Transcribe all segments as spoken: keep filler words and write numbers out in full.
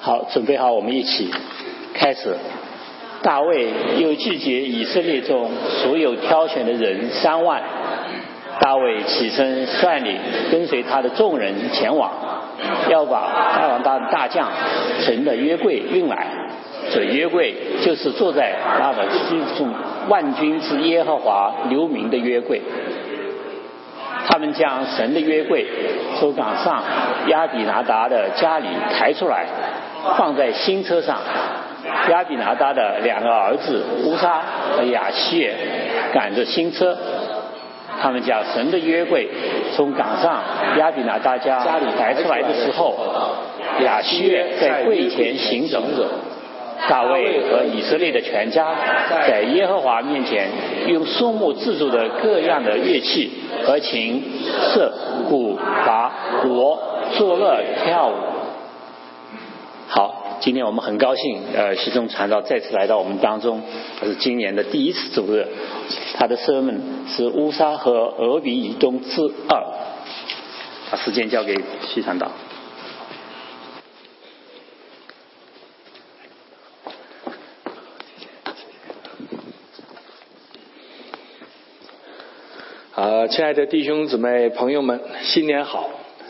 好，准备好，我们一起开始。大卫又聚集以色列中所有挑选的人三万。大卫起身率领跟随他的众人前往，要把亚兰大的大将神的约柜运来。这约柜就是坐在那个居中万军之耶和华留名的约柜。他们将神的约柜从岗上亚比拿达的家里抬出来，放在新车上。亚比拿达的两个儿子乌撒和亚希尔赶着新车，他们将神的约柜从岗上亚比拿达家里抬出来的时候，亚希尔在柜前行走。大卫和以色列的全家在耶和华面前用树木制作的各样的乐器和琴、瑟、鼓、拔、锣作乐跳舞。好，今天我们很高兴，呃，西中传道再次来到我们当中，这是今年的第一次主日。他的 sermon 是乌撒和俄比以东之二。把时间交给西传道。 呃，亲爱的弟兄姊妹朋友们，新年好！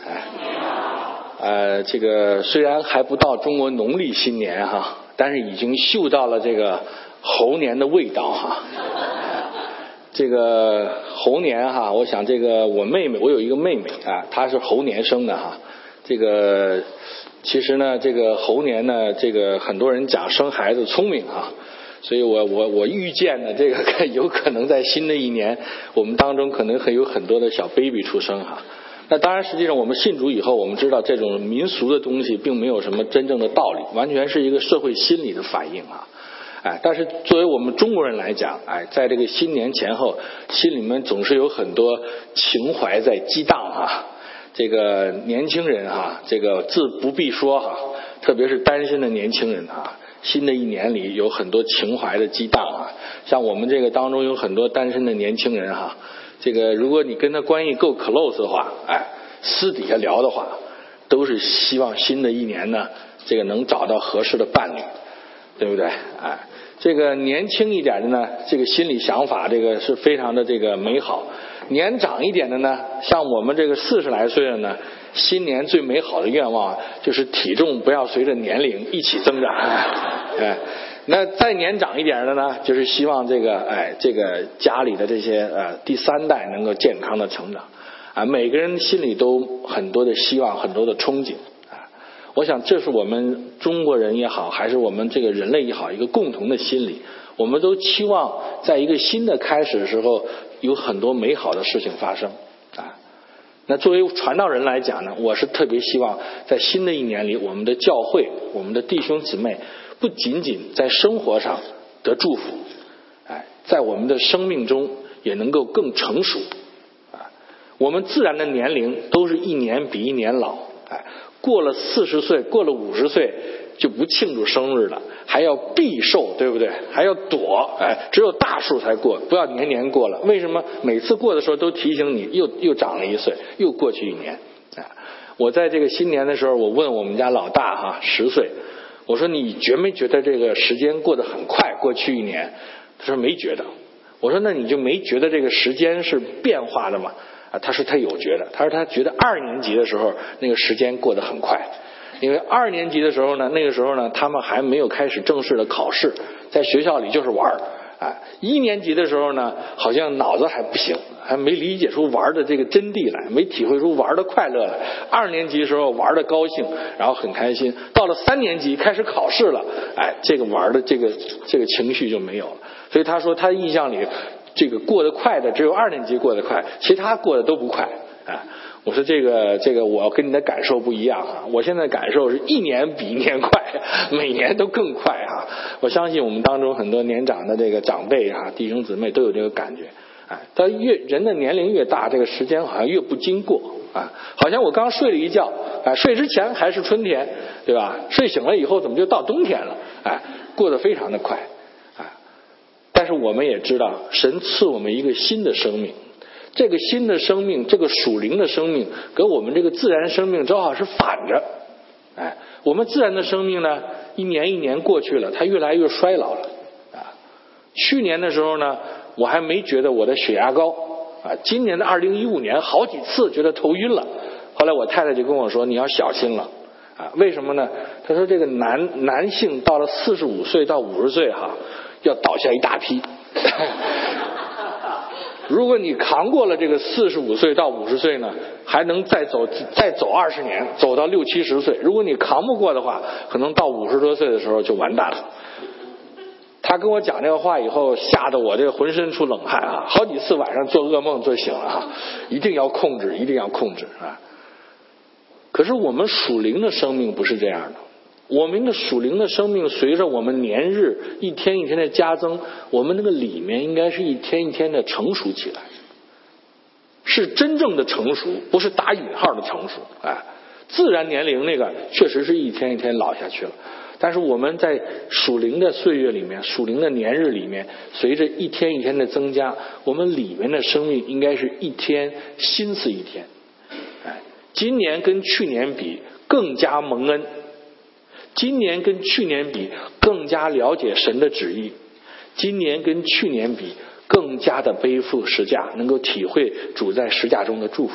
呃，这个虽然还不到中国农历新年哈，但是已经嗅到了这个猴年的味道哈。这个猴年哈，我想这个我妹妹，我有一个妹妹啊，她是猴年生的哈。这个其实呢，这个猴年呢，这个很多人讲生孩子聪明哈。所以我我我预见呢，这个有可能在新的一年，我们当中可能会有很多的小 baby 出生哈。那当然，实际上我们信主以后，我们知道这种民俗的东西并没有什么真正的道理，完全是一个社会心理的反应啊。哎，但是作为我们中国人来讲，哎，在这个新年前后，心里面总是有很多情怀在激荡啊。这个年轻人哈，这个自不必说哈，特别是单身的年轻人啊。新的一年里有很多情怀的激荡啊，像我们这个当中有很多单身的年轻人哈，这个如果你跟他关系够 close 的话，哎，私底下聊的话，都是希望新的一年呢，这个能找到合适的伴侣，对不对？哎，这个年轻一点的呢，这个心理想法这个是非常的这个美好。年长一点的呢，像我们这个四十来岁的呢，新年最美好的愿望就是体重不要随着年龄一起增长。哎，那再年长一点的呢，就是希望这个哎这个家里的这些呃第三代能够健康的成长。啊，每个人心里都很多的希望，很多的憧憬。啊，我想这是我们中国人也好，还是我们这个人类也好，一个共同的心理。我们都期望在一个新的开始的时候，有很多美好的事情发生啊。那作为传道人来讲呢，我是特别希望在新的一年里，我们的教会，我们的弟兄姊妹，不仅仅在生活上得祝福，哎，在我们的生命中也能够更成熟啊。我们自然的年龄都是一年比一年老，哎，过了四十岁，过了五十岁。就不庆祝生日了，还要避寿，对不对？还要躲，哎，只有大数才过，不要年年过了。为什么？每次过的时候都提醒你，又又长了一岁，又过去一年。哎，我在这个新年的时候，我问我们家老大哈，十岁，我说你觉没觉得这个时间过得很快？过去一年，他说没觉得。我说那你就没觉得这个时间是变化的吗？啊，他说他有觉得，他说他觉得二年级的时候那个时间过得很快。因为二年级的时候呢，那个时候呢，他们还没有开始正式的考试，在学校里就是玩儿。哎，一年级的时候呢，好像脑子还不行，还没理解出玩的这个真谛来，没体会出玩的快乐来。二年级的时候玩的高兴，然后很开心。到了三年级开始考试了，哎，这个玩的这个这个情绪就没有了。所以他说他印象里，这个过得快的只有二年级过得快，其他过得都不快。哎。我说这个这个我跟你的感受不一样啊！我现在感受是一年比一年快，每年都更快啊！我相信我们当中很多年长的这个长辈啊、弟兄姊妹都有这个感觉。哎，他越人的年龄越大，这个时间好像越不经过啊！好像我刚睡了一觉，哎，睡之前还是春天，对吧？睡醒了以后怎么就到冬天了？哎，过得非常的快，哎。但是我们也知道，神赐我们一个新的生命。这个新的生命，这个属灵的生命跟我们这个自然生命正好是反着。哎， 我们自然的生命呢，一年一年过去了，它越来越衰老了啊。去年的时候呢，我还没觉得我的血压高啊，今年的二零一五年好几次觉得头晕了，后来我太太就跟我说你要小心了啊。为什么呢？她说这个男男性到了四十五岁到五十岁哈，要倒下一大批如果你扛过了这个四十五岁到五十岁呢，还能再走再走二十年，走到六七十岁。如果你扛不过的话，可能到五十多岁的时候就完蛋了。他跟我讲这个话以后，吓得我这个浑身出冷汗啊，好几次晚上做噩梦做醒了啊，一定要控制，一定要控制啊。可是我们属灵的生命不是这样的，我们的属灵的生命随着我们年日一天一天的加增，我们那个里面应该是一天一天的成熟起来，是真正的成熟，不是打引号的成熟。哎，自然年龄那个确实是一天一天老下去了，但是我们在属灵的岁月里面，属灵的年日里面，随着一天一天的增加，我们里面的生命应该是一天新似一天。哎，今年跟去年比更加蒙恩，今年跟去年比更加了解神的旨意，今年跟去年比更加的背负十架，能够体会主在十架中的祝福。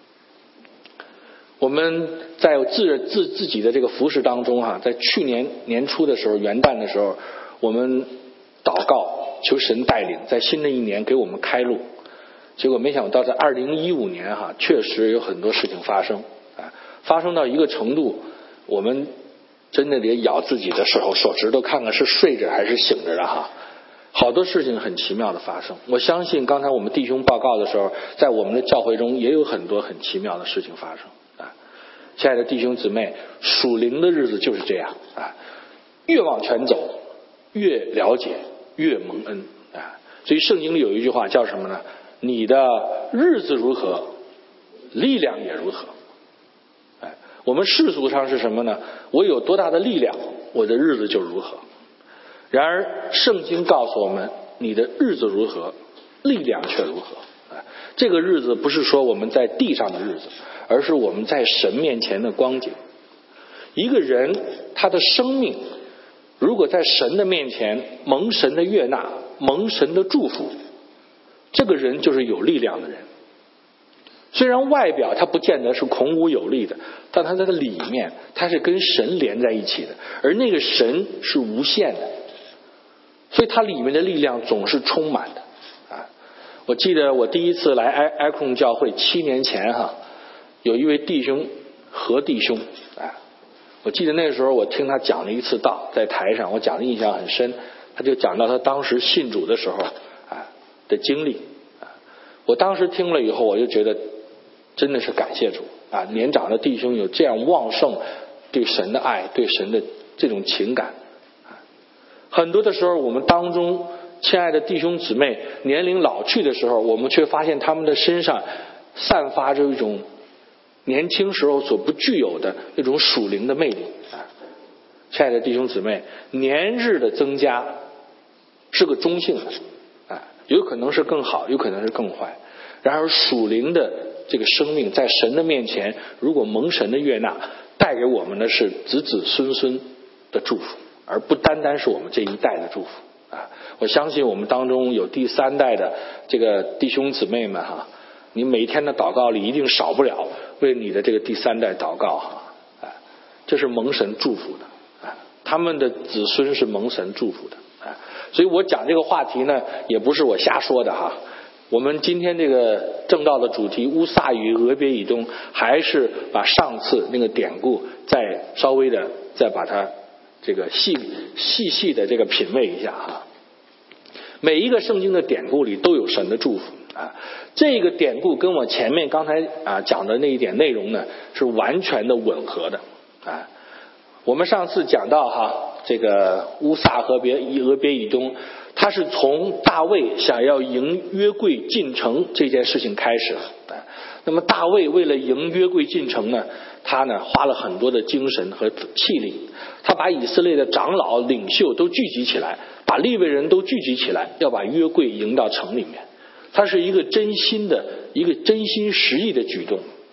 我们在自自自己的这个服事当中哈、啊，在去年年初的时候，元旦的时候，我们祷告求神带领，在新的一年给我们开路。结果没想到在二零一五年哈、啊，确实有很多事情发生啊，发生到一个程度，我们真的得咬自己的手手指头看看是睡着还是醒着的哈。好多事情很奇妙的发生，我相信刚才我们弟兄报告的时候，在我们的教会中也有很多很奇妙的事情发生啊。亲爱的弟兄姊妹，属灵的日子就是这样啊，越往前走越了解越蒙恩啊。所以圣经里有一句话叫什么呢？你的日子如何，力量也如何。哎，我们世俗上是什么呢？我有多大的力量，我的日子就如何。然而圣经告诉我们，你的日子如何，力量却如何。这个日子不是说我们在地上的日子，而是我们在神面前的光景。一个人他的生命如果在神的面前蒙神的悦纳，蒙神的祝福，这个人就是有力量的人。虽然外表他不见得是孔武有力的，但他在里面他是跟神连在一起的，而那个神是无限的，所以它里面的力量总是充满的啊！我记得我第一次来埃埃控教会七年前哈，有一位弟兄何弟兄啊，我记得那时候我听他讲了一次道，在台上我讲的印象很深，他就讲到他当时信主的时候啊的经历啊，我当时听了以后我就觉得真的是感谢主啊！年长的弟兄有这样旺盛对神的爱，对神的这种情感。很多的时候我们当中亲爱的弟兄姊妹年龄老去的时候，我们却发现他们的身上散发着一种年轻时候所不具有的那种属灵的魅力啊！亲爱的弟兄姊妹，年日的增加是个中性的啊，有可能是更好，有可能是更坏。然而属灵的这个生命在神的面前，如果蒙神的悦纳，带给我们的是子子孙孙的祝福，而不单单是我们这一代的祝福啊！我相信我们当中有第三代的这个弟兄姊妹们哈，你每天的祷告里一定少不了为你的这个第三代祷告哈，啊，这是蒙神祝福的啊，他们的子孙是蒙神祝福的啊！所以我讲这个话题呢，也不是我瞎说的哈。我们今天这个正道的主题乌撒与俄别以东，还是把上次那个典故再稍微的再把它这个细细细的这个品味一下哈。每一个圣经的典故里都有神的祝福啊，这个典故跟我前面刚才啊讲的那一点内容呢是完全的吻合的啊。我们上次讲到哈，这个乌撒和别俄别以东，他是从大卫想要迎约柜进城这件事情开始了。那么大卫为了迎约柜进城呢，他呢花了很多的精神和气力，他把以色列的长老领袖都聚集起来，把利未人都聚集起来，要把约柜迎到城里面。他是一个真心的一个真心实意的举动。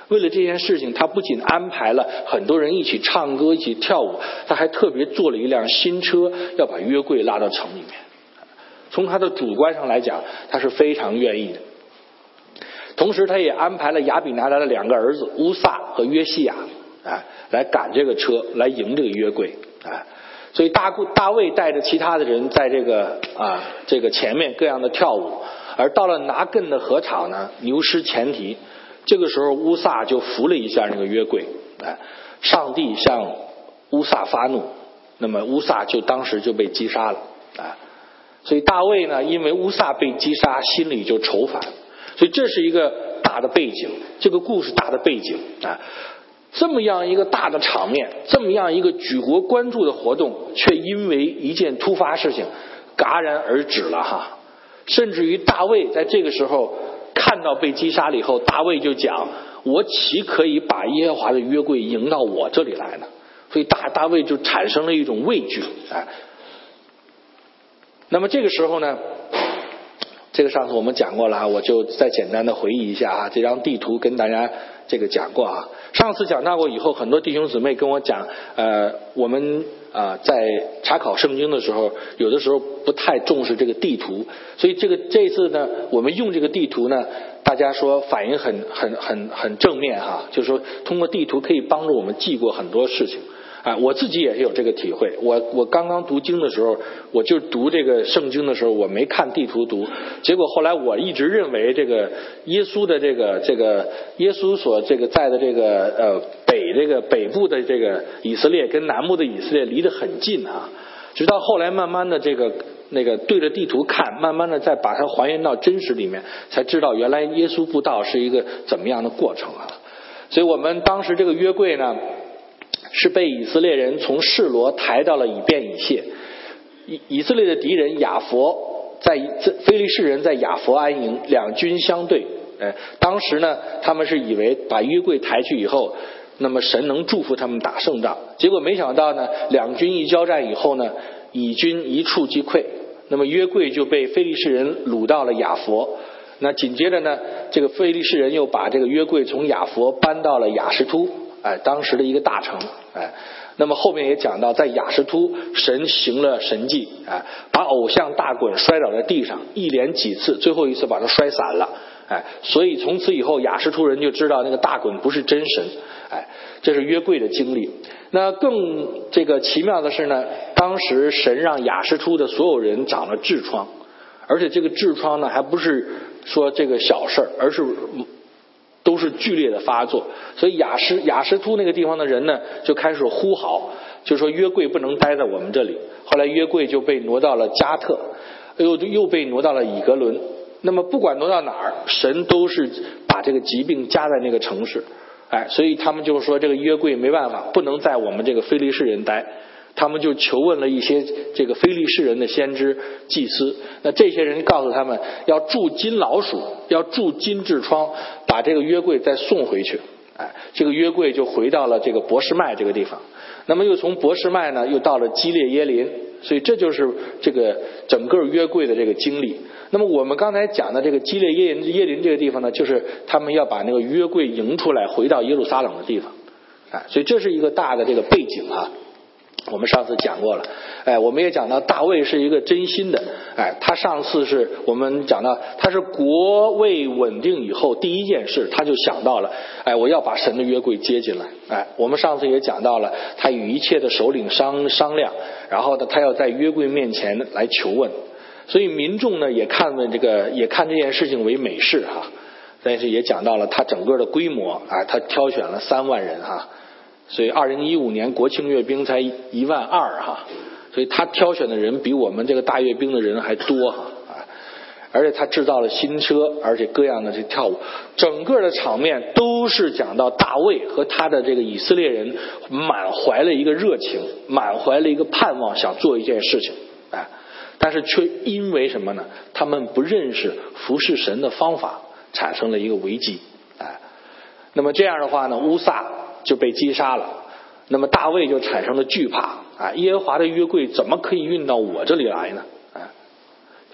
为了这件事情，他不仅安排了很多人一起唱歌一起跳舞，他还特别做了一辆新车，要把约柜拉到城里面。从他的主观上来讲，他是非常愿意的。同时他也安排了亚比拿达的两个儿子乌撒和约西亚，哎，来赶这个车，来迎这个约柜，哎，所以大大卫带着其他的人在这个啊这个前面各样的跳舞，而到了拿更的禾场呢，牛失前蹄，这个时候乌撒就扶了一下那个约柜，哎，上帝向乌撒发怒，那么乌撒就当时就被击杀了，哎，所以大卫呢，因为乌撒被击杀，心里就愁烦。所以这是一个大的背景，这个故事大的背景啊，这么样一个大的场面，这么样一个举国关注的活动，却因为一件突发事情戛然而止了哈。甚至于大卫在这个时候看到被击杀了以后，大卫就讲：我岂可以把耶和华的约柜迎到我这里来呢？所以大大卫就产生了一种畏惧，哎。那么这个时候呢？这个上次我们讲过了啊，我就再简单的回忆一下啊。这张地图跟大家这个讲过啊。上次讲到过以后，很多弟兄姊妹跟我讲，呃，我们啊、呃、在查考圣经的时候，有的时候不太重视这个地图，所以这个这次呢，我们用这个地图呢，大家说反应很很很很正面哈，就是说通过地图可以帮助我们记过很多事情。啊，我自己也是有这个体会。我我刚刚读经的时候，我就读这个圣经的时候，我没看地图读，结果后来我一直认为这个耶稣的这个这个耶稣所这个在的这个呃北这个北部的这个以色列跟南部的以色列离得很近啊，直到后来慢慢的这个那个对着地图看，慢慢的再把它还原到真实里面，才知道原来耶稣布道是一个怎么样的过程啊。所以我们当时这个约柜呢，是被以色列人从示罗抬到了以便以谢。以以色列的敌人亚佛在非利士人在亚佛安营，两军相对。哎，当时呢，他们是以为把约柜抬去以后，那么神能祝福他们打胜仗。结果没想到呢，两军一交战以后呢，以军一触即溃，那么约柜就被非利士人掳到了亚佛。那紧接着呢，这个非利士人又把这个约柜从亚佛搬到了亚实突。哎，当时的一个大城，哎，那么后面也讲到，在亚实突，神行了神迹，哎，把偶像大滚摔倒在地上，一连几次，最后一次把它摔散了，哎，所以从此以后，亚实突人就知道那个大滚不是真神，哎，这是约柜的经历。那更这个奇妙的是呢，当时神让亚实突的所有人长了痔疮，而且这个痔疮呢，还不是说这个小事儿，而是都是剧烈的发作，所以雅什雅什突那个地方的人呢，就开始呼号，就说约柜不能待在我们这里。后来约柜就被挪到了加特，又又被挪到了以格伦。那么不管挪到哪儿，神都是把这个疾病加在那个城市，哎，所以他们就说这个约柜没办法，不能在我们这个非利士人待。他们就求问了一些这个非利士人的先知祭司，那这些人告诉他们要铸金老鼠，要铸金痔疮，把这个约柜再送回去。哎，这个约柜就回到了这个伯示麦这个地方，那么又从伯示麦呢又到了基列耶林，所以这就是这个整个约柜的这个经历。那么我们刚才讲的这个基列耶林耶林这个地方呢，就是他们要把那个约柜迎出来回到耶路撒冷的地方。哎，所以这是一个大的这个背景啊。我们上次讲过了，哎，我们也讲到大卫是一个真心的，哎，他上次是我们讲到他是国位稳定以后第一件事，他就想到了，哎，我要把神的约柜接进来，哎，我们上次也讲到了，他与一切的首领商商量，然后呢，他要在约柜面前来求问，所以民众呢也看问这个，也看这件事情为美事哈，但是也讲到了他整个的规模，哎，他挑选了三万人哈。所以二零一五年国庆阅兵才一万二哈，所以他挑选的人比我们这个大阅兵的人还多哈，而且他制造了新车，而且各样的这跳舞，整个的场面都是讲到大卫和他的这个以色列人满怀了一个热情，满怀了一个盼望，想做一件事情，哎，但是却因为什么呢？他们不认识服侍神的方法，产生了一个危机，哎，那么这样的话呢，乌撒就被击杀了，那么大卫就产生了惧怕啊！耶和华的约柜怎么可以运到我这里来呢？啊，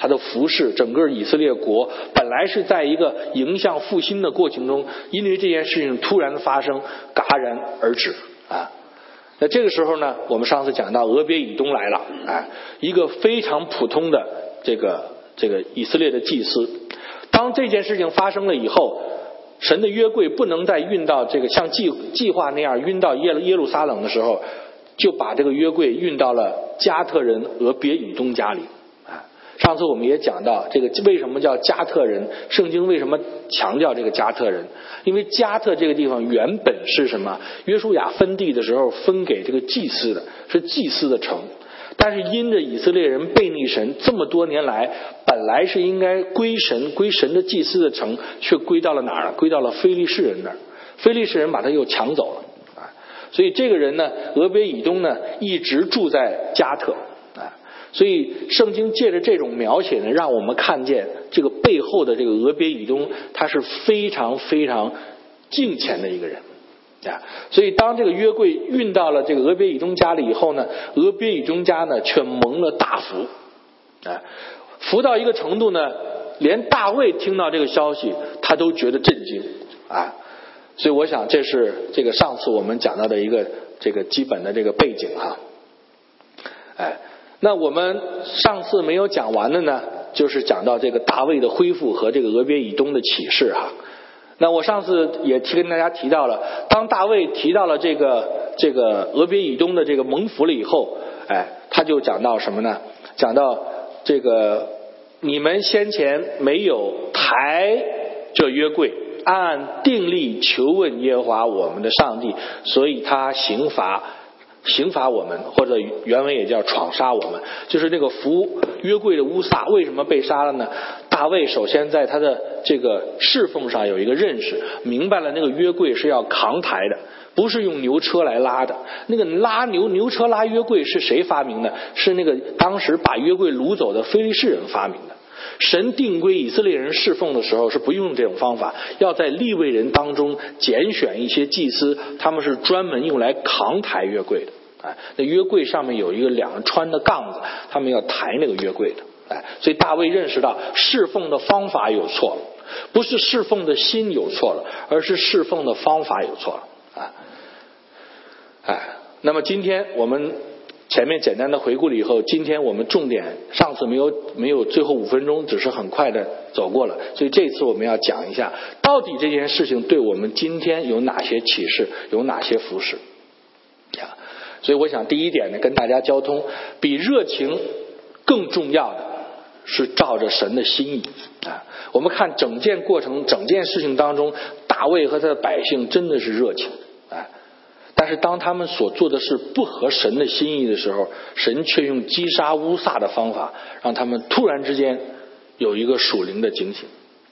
他的服侍，整个以色列国本来是在一个迎向复兴的过程中，因为这件事情突然的发生，戛然而止啊。那这个时候呢，我们上次讲到俄别以东来了，哎，一个非常普通的这个这个以色列的祭司。当这件事情发生了以后，神的约柜不能再运到这个像计计划那样运到耶路耶路撒冷的时候，就把这个约柜运到了加特人俄别以东家里。上次我们也讲到这个为什么叫加特人，圣经为什么强调这个加特人，因为加特这个地方原本是什么，约书亚分地的时候分给这个祭司的，是祭司的城，但是因着以色列人背逆神这么多年来，本来是应该归神归神的祭司的城，却归到了哪儿？归到了非利士人那儿，非利士人把他又抢走了啊！所以这个人呢，俄别以东呢，一直住在加特啊。所以圣经借着这种描写呢，让我们看见这个背后的这个俄别以东，他是非常非常敬虔的一个人啊。所以当这个约柜运到了这个俄别以东家里以后呢，俄别以东家呢却蒙了大福啊，福到一个程度呢，连大卫听到这个消息他都觉得震惊啊。所以我想这是这个上次我们讲到的一个这个基本的这个背景啊。哎，那我们上次没有讲完的呢，就是讲到这个大卫的恢复和这个俄别以东的启示哈。那我上次也提跟大家提到了，当大卫提到了这个这个俄别以东的这个蒙福了以后，哎，他就讲到什么呢？讲到这个你们先前没有抬这约柜，按定例求问耶和华我们的上帝，所以他刑罚刑罚我们，或者原文也叫闯杀我们，就是那个扶约柜的乌撒为什么被杀了呢？大卫首先在他的这个侍奉上有一个认识，明白了那个约柜是要扛抬的，不是用牛车来拉的。那个拉牛牛车拉约柜是谁发明的？是那个当时把约柜掳走的非利士人发明的。神定规以色列人侍奉的时候是不用这种方法，要在利未人当中拣选一些祭司，他们是专门用来扛抬约柜的。哎，那约柜上面有一个两个穿的杠子，他们要抬那个约柜的。哎，所以大卫认识到侍奉的方法有错了，不是侍奉的心有错了，而是侍奉的方法有错了。啊，哎，那么今天我们前面简单的回顾了以后，今天我们重点上次没有没有最后五分钟，只是很快的走过了，所以这次我们要讲一下，到底这件事情对我们今天有哪些启示，有哪些服饰啊？所以我想第一点呢，跟大家交通，比热情更重要的是照着神的心意啊。我们看整件过程整件事情当中，大卫和他的百姓真的是热情啊，但是当他们所做的事不合神的心意的时候，神却用击杀乌撒的方法，让他们突然之间有一个属灵的警醒。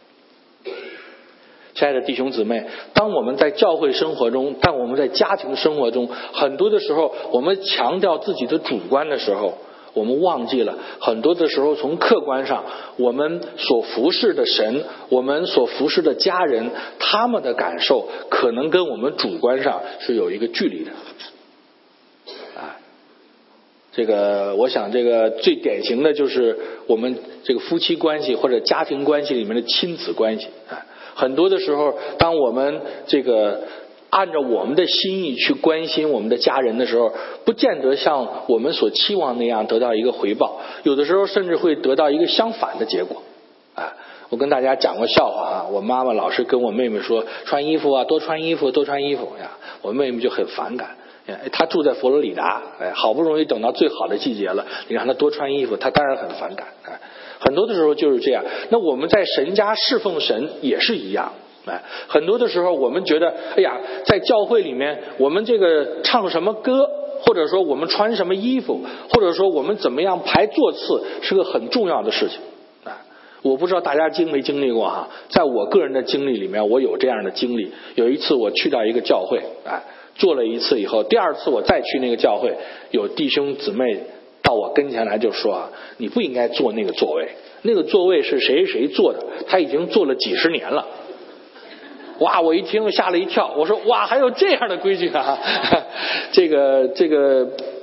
亲爱的弟兄姊妹，当我们在教会生活中，当我们在家庭生活中，很多的时候我们强调自己的主观的时候，我们忘记了很多的时候从客观上，我们所服侍的神，我们所服侍的家人，他们的感受可能跟我们主观上是有一个距离的啊。这个我想这个最典型的就是我们这个夫妻关系或者家庭关系里面的亲子关系啊。很多的时候当我们这个按照我们的心意去关心我们的家人的时候，不见得像我们所期望那样得到一个回报，有的时候甚至会得到一个相反的结果啊。我跟大家讲过笑话啊，我妈妈老是跟我妹妹说穿衣服啊，多穿衣服多穿衣服呀，我妹妹就很反感。她住在佛罗里达，哎，好不容易等到最好的季节了，你让她多穿衣服，她当然很反感。哎，很多的时候就是这样。那我们在神家侍奉神也是一样。哎，很多的时候我们觉得，哎呀，在教会里面，我们这个唱什么歌，或者说我们穿什么衣服，或者说我们怎么样排座次，是个很重要的事情。哎，我不知道大家经没经历过哈，在我个人的经历里面，我有这样的经历。有一次我去到一个教会，哎，做了一次以后，第二次我再去那个教会，有弟兄姊妹到我跟前来就说啊，你不应该坐那个座位，那个座位是谁谁坐的，他已经坐了几十年了。哇！我一听吓了一跳，我说哇，还有这样的规矩啊！这个这个，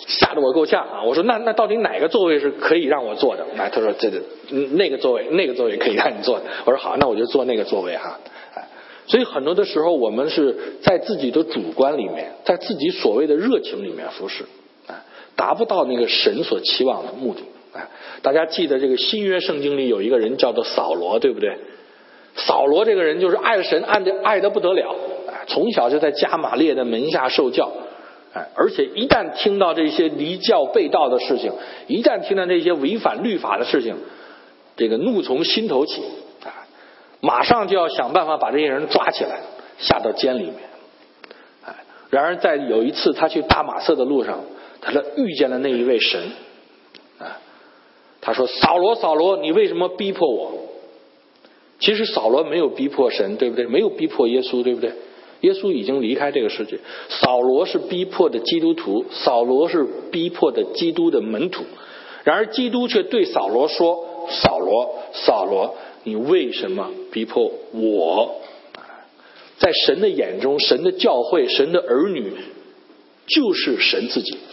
吓得我够呛啊！我说那那到底哪个座位是可以让我坐的？哎，他说这个那个座位那个座位可以让你坐的。我说好，那我就坐那个座位哈。哎，所以很多的时候我们是在自己的主观里面，在自己所谓的热情里面服侍，哎，达不到那个神所期望的目的。哎，大家记得这个新约圣经里有一个人叫做扫罗，对不对？扫罗这个人就是爱神爱的爱得不得了，哎，从小就在加玛列的门下受教。哎，而且一旦听到这些离教背道的事情，一旦听到这些违反律法的事情，这个怒从心头起，啊，马上就要想办法把这些人抓起来，下到监里面。哎，然而在有一次他去大马色的路上，他遇见了那一位神，啊，他说：“扫罗，扫罗，你为什么逼迫我？”其实扫罗没有逼迫神，对不对？没有逼迫耶稣，对不对？耶稣已经离开这个世界，扫罗是逼迫的基督徒，扫罗是逼迫的基督的门徒。然而基督却对扫罗说：“扫罗，扫罗，你为什么逼迫我？”在神的眼中，神的教会，神的儿女就是神自己。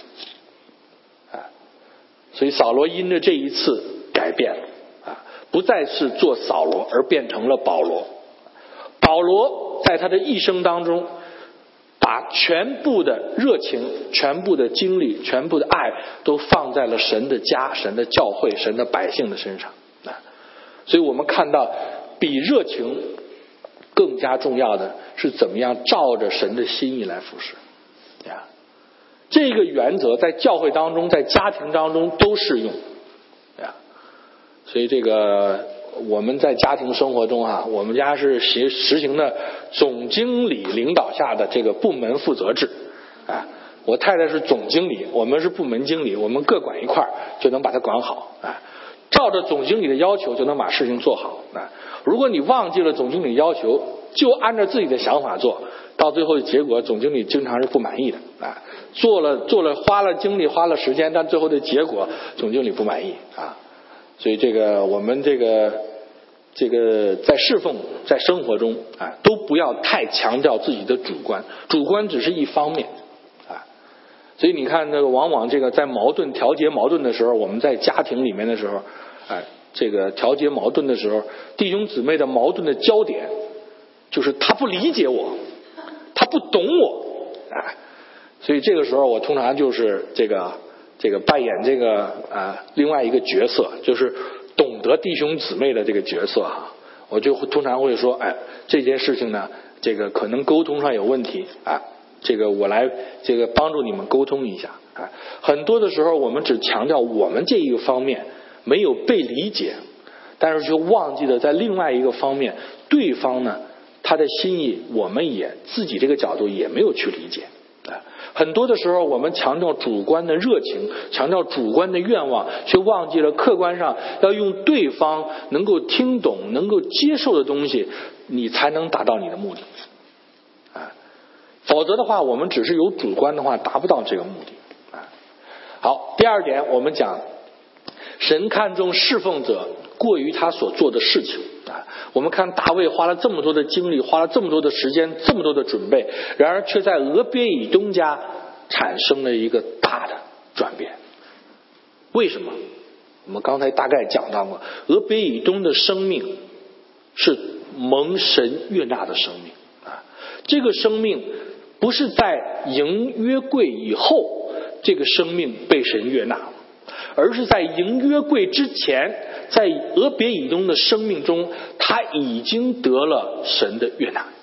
所以扫罗因着这一次改变了，不再是做扫罗，而变成了保罗。保罗在他的一生当中，把全部的热情、全部的精力、全部的爱都放在了神的家、神的教会、神的百姓的身上。所以我们看到比热情更加重要的是怎么样照着神的心意来服侍。这个原则在教会当中，在家庭当中都适用。所以这个我们在家庭生活中啊，我们家是实实行的总经理领导下的这个部门负责制。啊，我太太是总经理，我们是部门经理，我们各管一块就能把它管好。啊，照着总经理的要求就能把事情做好。啊，如果你忘记了总经理要求，就按照自己的想法做，到最后的结果总经理经常是不满意的。啊，做了做了花了精力花了时间，但最后的结果总经理不满意。啊，所以这个我们这个这个在侍奉在生活中啊，都不要太强调自己的主观，主观只是一方面啊。所以你看这个往往这个在矛盾调节矛盾的时候，我们在家庭里面的时候，哎，这个调节矛盾的时候，弟兄姊妹的矛盾的焦点就是他不理解我，他不懂我，哎，所以这个时候我通常就是这个这个扮演这个啊另外一个角色，就是懂得弟兄姊妹的这个角色哈。我就通常会说，哎，这件事情呢，这个可能沟通上有问题啊，这个我来这个帮助你们沟通一下啊。很多的时候我们只强调我们这一个方面没有被理解，但是就忘记了在另外一个方面，对方呢他的心意我们也自己这个角度也没有去理解。很多的时候我们强调主观的热情，强调主观的愿望，却忘记了客观上要用对方能够听懂能够接受的东西，你才能达到你的目的啊。否则的话我们只是有主观的话达不到这个目的啊。好，第二点我们讲神看重侍奉者过于他所做的事情啊。我们看大卫花了这么多的精力，花了这么多的时间，这么多的准备，然而却在俄别以东家产生了一个大的转变。为什么？我们刚才大概讲到过，俄别以东的生命是蒙神悦纳的生命啊。这个生命不是在迎约柜以后，这个生命被神悦纳，而是在迎约柜之前，在俄别以东的生命中，他已经得了神的悦纳。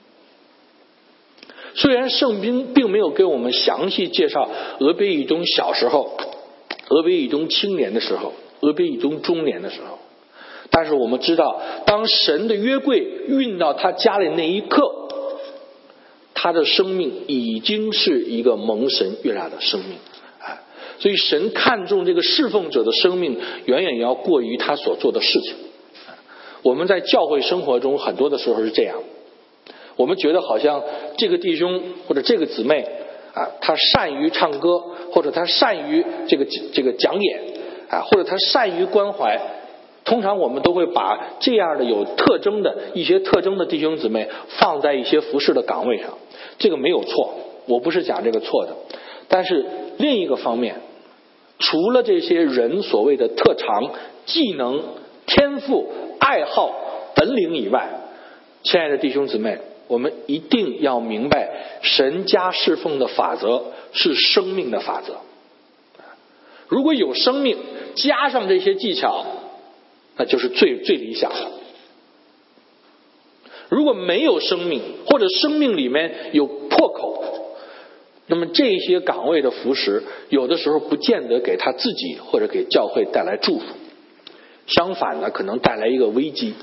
虽然圣经并没有给我们详细介绍俄别以东小时候、俄别以东青年的时候、俄别以东中年的时候，但是我们知道，当神的约柜运到他家里那一刻，他的生命已经是一个蒙神悦纳的生命。所以神看重这个侍奉者的生命远远要过于他所做的事情。我们在教会生活中很多的时候是这样，我们觉得好像这个弟兄或者这个姊妹啊，他善于唱歌，或者他善于这个这个讲演啊，或者他善于关怀，通常我们都会把这样的有特征的一些特征的弟兄姊妹放在一些服侍的岗位上。这个没有错，我不是讲这个错的， 但是另一个方面，除了这些人所谓的特长、技能、天赋、爱好、本领以外，亲爱的弟兄姊妹，我们一定要明白神家侍奉的法则是生命的法则。如果有生命加上这些技巧，那就是最最理想的。如果没有生命，或者生命里面有破口，那么这些岗位的服侍有的时候不见得给他自己或者给教会带来祝福，相反呢，可能带来一个危机。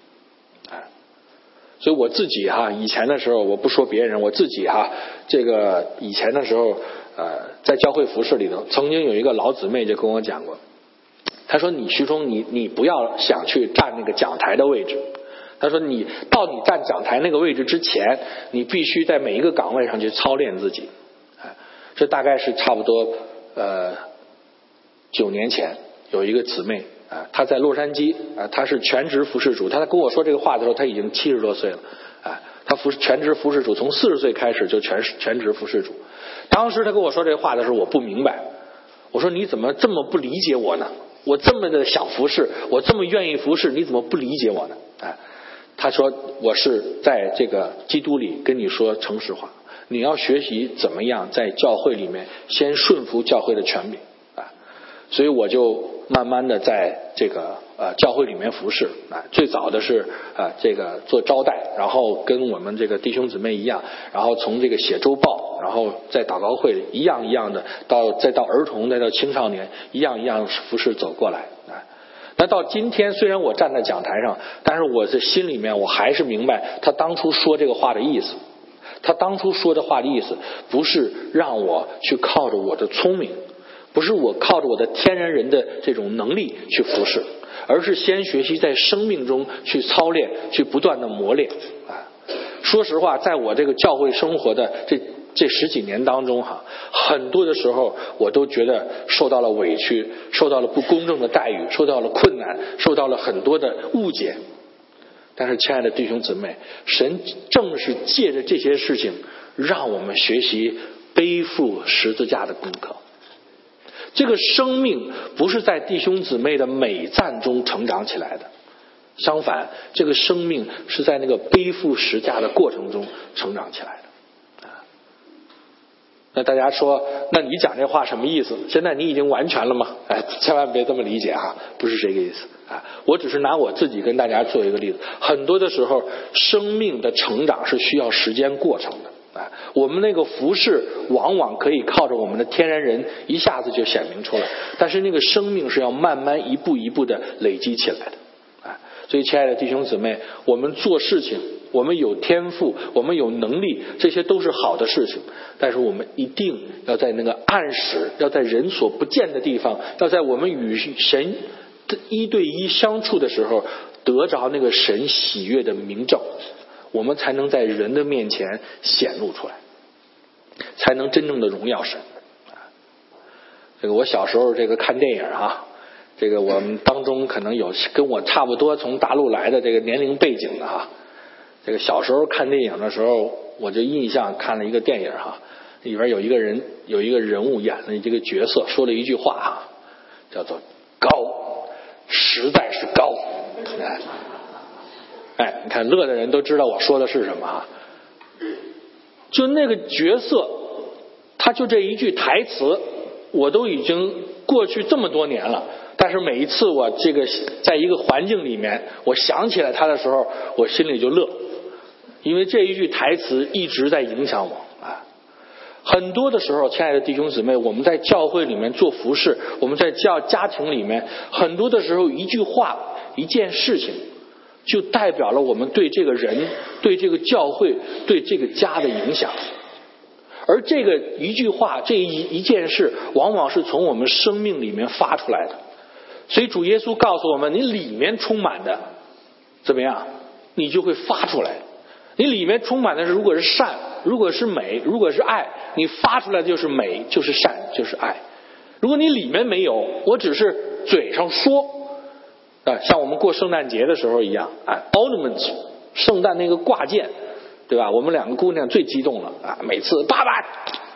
所以我自己哈，以前的时候，我不说别人，我自己哈，这个以前的时候，呃，在教会服侍里头，曾经有一个老姊妹就跟我讲过，她说：“你徐忠，你你不要想去站那个讲台的位置。”她说：“你到你站讲台那个位置之前，你必须在每一个岗位上去操练自己。”哎，这大概是差不多呃九年前有一个姊妹。啊，他在洛杉矶啊，他是全职服侍主。他跟我说这个话的时候，他已经七十多岁了。啊，他服全职服侍主，从四十岁开始就全全职服侍主。当时他跟我说这话的时候，我不明白。我说你怎么这么不理解我呢？我这么的想服侍，我这么愿意服侍，你怎么不理解我呢？啊，他说我是在这个基督里跟你说诚实话，你要学习怎么样在教会里面先顺服教会的权柄啊。所以我就慢慢的在这个呃教会里面服侍啊，最早的是啊、呃、这个做招待，然后跟我们这个弟兄姊妹一样，然后从这个写周报，然后在祷告会一样一样的到再到儿童，再到青少年，一样一样服侍走过来啊。那到今天，虽然我站在讲台上，但是我的心里面我还是明白他当初说这个话的意思。他当初说的话的意思，不是让我去靠着我的聪明，不是我靠着我的天然人的这种能力去服侍，而是先学习在生命中去操练，去不断的磨练啊。说实话，在我这个教会生活的这这十几年当中哈，很多的时候我都觉得受到了委屈，受到了不公正的待遇，受到了困难，受到了很多的误解。但是亲爱的弟兄姊妹，神正是借着这些事情让我们学习背负十字架的功课。这个生命不是在弟兄姊妹的美赞中成长起来的，相反，这个生命是在那个背负十字架的过程中成长起来的。那大家说，那你讲这话什么意思？现在你已经完全了吗？哎，千万别这么理解啊，不是这个意思啊。我只是拿我自己跟大家做一个例子。很多的时候，生命的成长是需要时间过程的啊。我们那个服侍往往可以靠着我们的天然人一下子就显明出来，但是那个生命是要慢慢一步一步的累积起来的啊。所以，亲爱的弟兄姊妹，我们做事情，我们有天赋，我们有能力，这些都是好的事情。但是我们一定要在那个暗室，要在人所不见的地方，要在我们与神一对一相处的时候，得着那个神喜悦的明证，我们才能在人的面前显露出来，才能真正的荣耀神。这个我小时候这个看电影啊，这个我们当中可能有跟我差不多从大陆来的这个年龄背景的哈。这个小时候看电影的时候，我就印象看了一个电影哈，里边有一个人有一个人物演的这个角色说了一句话哈，叫做高，实在是高。哎，哎，你看乐的人都知道我说的是什么哈。就那个角色，他就这一句台词，我都已经过去这么多年了。但是每一次我这个在一个环境里面，我想起来他的时候，我心里就乐，因为这一句台词一直在影响我啊。很多的时候，亲爱的弟兄姊妹，我们在教会里面做服事，我们在教家庭里面，很多的时候一句话、一件事情，就代表了我们对这个人、对这个教会、对这个家的影响。而这个一句话、这一一件事，往往是从我们生命里面发出来的。所以主耶稣告诉我们，你里面充满的怎么样，你就会发出来。你里面充满的是，如果是善，如果是美，如果是爱，你发出来就是美，就是善，就是爱。如果你里面没有，我只是嘴上说啊，像我们过圣诞节的时候一样啊 ，ornaments， 圣诞那个挂件，对吧？我们两个姑娘最激动了啊，每次爸爸快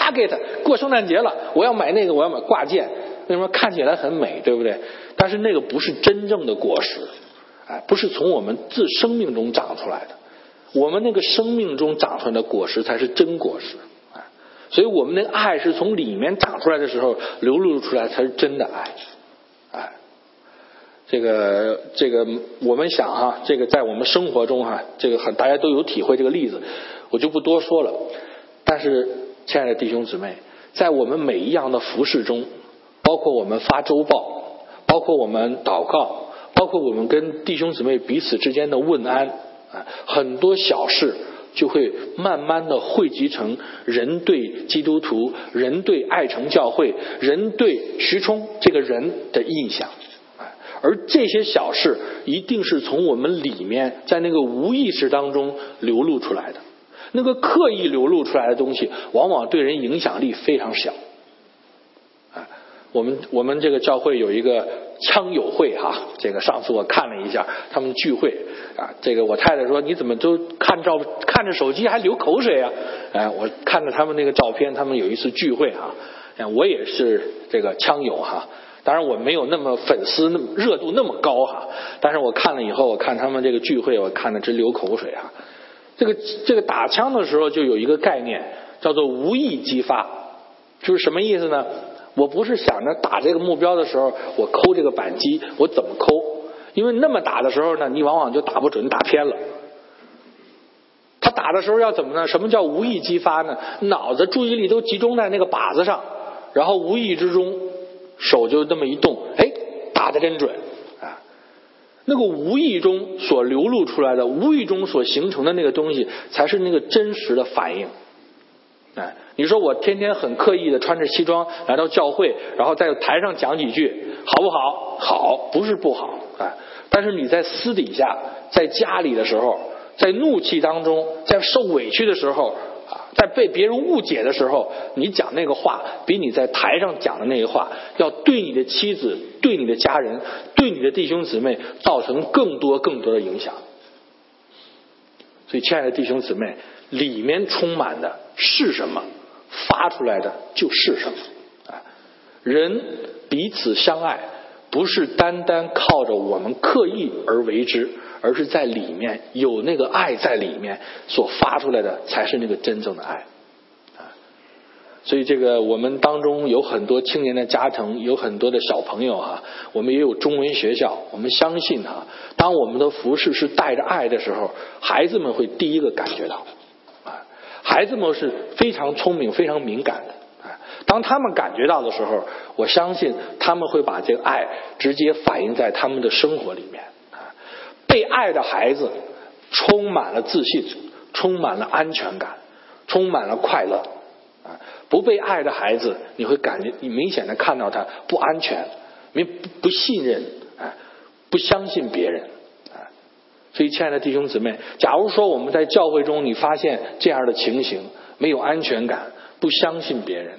target 过圣诞节了，我要买那个，我要买挂件，为什么看起来很美，对不对？但是那个不是真正的果实，哎，不是从我们自生命中长出来的。我们那个生命中长出来的果实才是真果实，哎，所以我们那个爱是从里面长出来的时候流露出来才是真的爱，哎，这个这个我们想哈，这个在我们生活中哈，这个很大家都有体会这个例子，我就不多说了。但是亲爱的弟兄姊妹，在我们每一样的服事中，包括我们发周报，包括我们祷告，包括我们跟弟兄姊妹彼此之间的问安，很多小事就会慢慢的汇集成人对基督徒，人对爱城教会，人对徐冲这个人的印象。而这些小事一定是从我们里面在那个无意识当中流露出来的，那个刻意流露出来的东西往往对人影响力非常小。我们我们这个教会有一个枪友会哈，这个上次我看了一下他们聚会啊，这个我太太说你怎么都看照看着手机还流口水啊？哎，我看着他们那个照片，他们有一次聚会哈，哎，我也是这个枪友哈，当然我没有那么粉丝那么热度那么高哈，但是我看了以后，我看他们这个聚会，我看得直流口水啊。这个这个打枪的时候就有一个概念叫做无意激发，就是什么意思呢？我不是想着打这个目标的时候我抠这个扳机我怎么抠，因为那么打的时候呢你往往就打不准，打偏了。他打的时候要怎么呢？什么叫无意激发呢？脑子注意力都集中在那个靶子上，然后无意之中手就这么一动，哎，打得真准啊！那个无意中所流露出来的，无意中所形成的那个东西才是那个真实的反应。哎，你说我天天很刻意的穿着西装来到教会，然后在台上讲几句，好不好？好，不是不好，哎，但是你在私底下，在家里的时候，在怒气当中，在受委屈的时候啊，在被别人误解的时候，你讲那个话比你在台上讲的那个话要对你的妻子、对你的家人、对你的弟兄姊妹造成更多更多的影响。所以亲爱的弟兄姊妹，里面充满的是什么，发出来的就是什么。人彼此相爱不是单单靠着我们刻意而为之，而是在里面有那个爱在里面所发出来的才是那个真正的爱。所以这个我们当中有很多青年的家庭，有很多的小朋友哈，我们也有中文学校，我们相信哈，当我们的服事是带着爱的时候，孩子们会第一个感觉到，孩子们是非常聪明非常敏感的，当他们感觉到的时候，我相信他们会把这个爱直接反映在他们的生活里面。被爱的孩子充满了自信，充满了安全感，充满了快乐。不被爱的孩子，你会感觉你明显的看到他不安全，不不信任，不相信别人。所以亲爱的弟兄姊妹，假如说我们在教会中你发现这样的情形，没有安全感，不相信别人，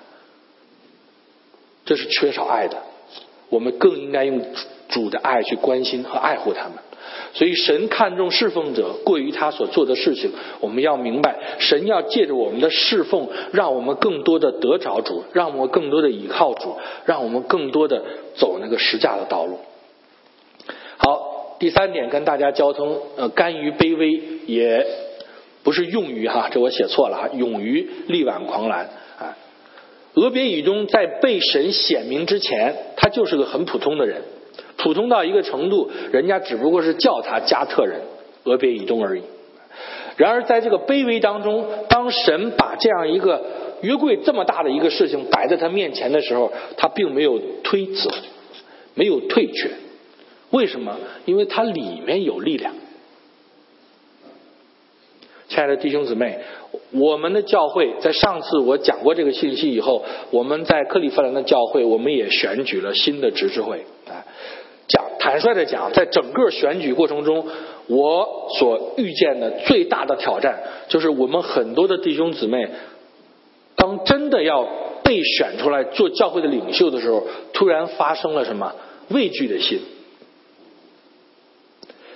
这是缺少爱的。我们更应该用主的爱去关心和爱护他们。所以神看重侍奉者过于他所做的事情，我们要明白神要借着我们的侍奉让我们更多的得着主，让我们更多的倚靠主，让我们更多的走那个十架的道路。好，第三点跟大家交通，呃，甘于卑微，也不是用于哈，这我写错了哈，勇于力挽狂澜啊。俄别以东在被神显明之前，他就是个很普通的人，普通到一个程度，人家只不过是叫他加特人俄别以东而已。然而在这个卑微当中，当神把这样一个约柜这么大的一个事情摆在他面前的时候，他并没有推辞，没有退却。为什么？因为他里面有力量。亲爱的弟兄姊妹，我们的教会在上次我讲过这个信息以后，我们在克利夫兰的教会我们也选举了新的执事会。讲坦率的讲，在整个选举过程中，我所遇见的最大的挑战就是我们很多的弟兄姊妹当真的要被选出来做教会的领袖的时候，突然发生了什么畏惧的心。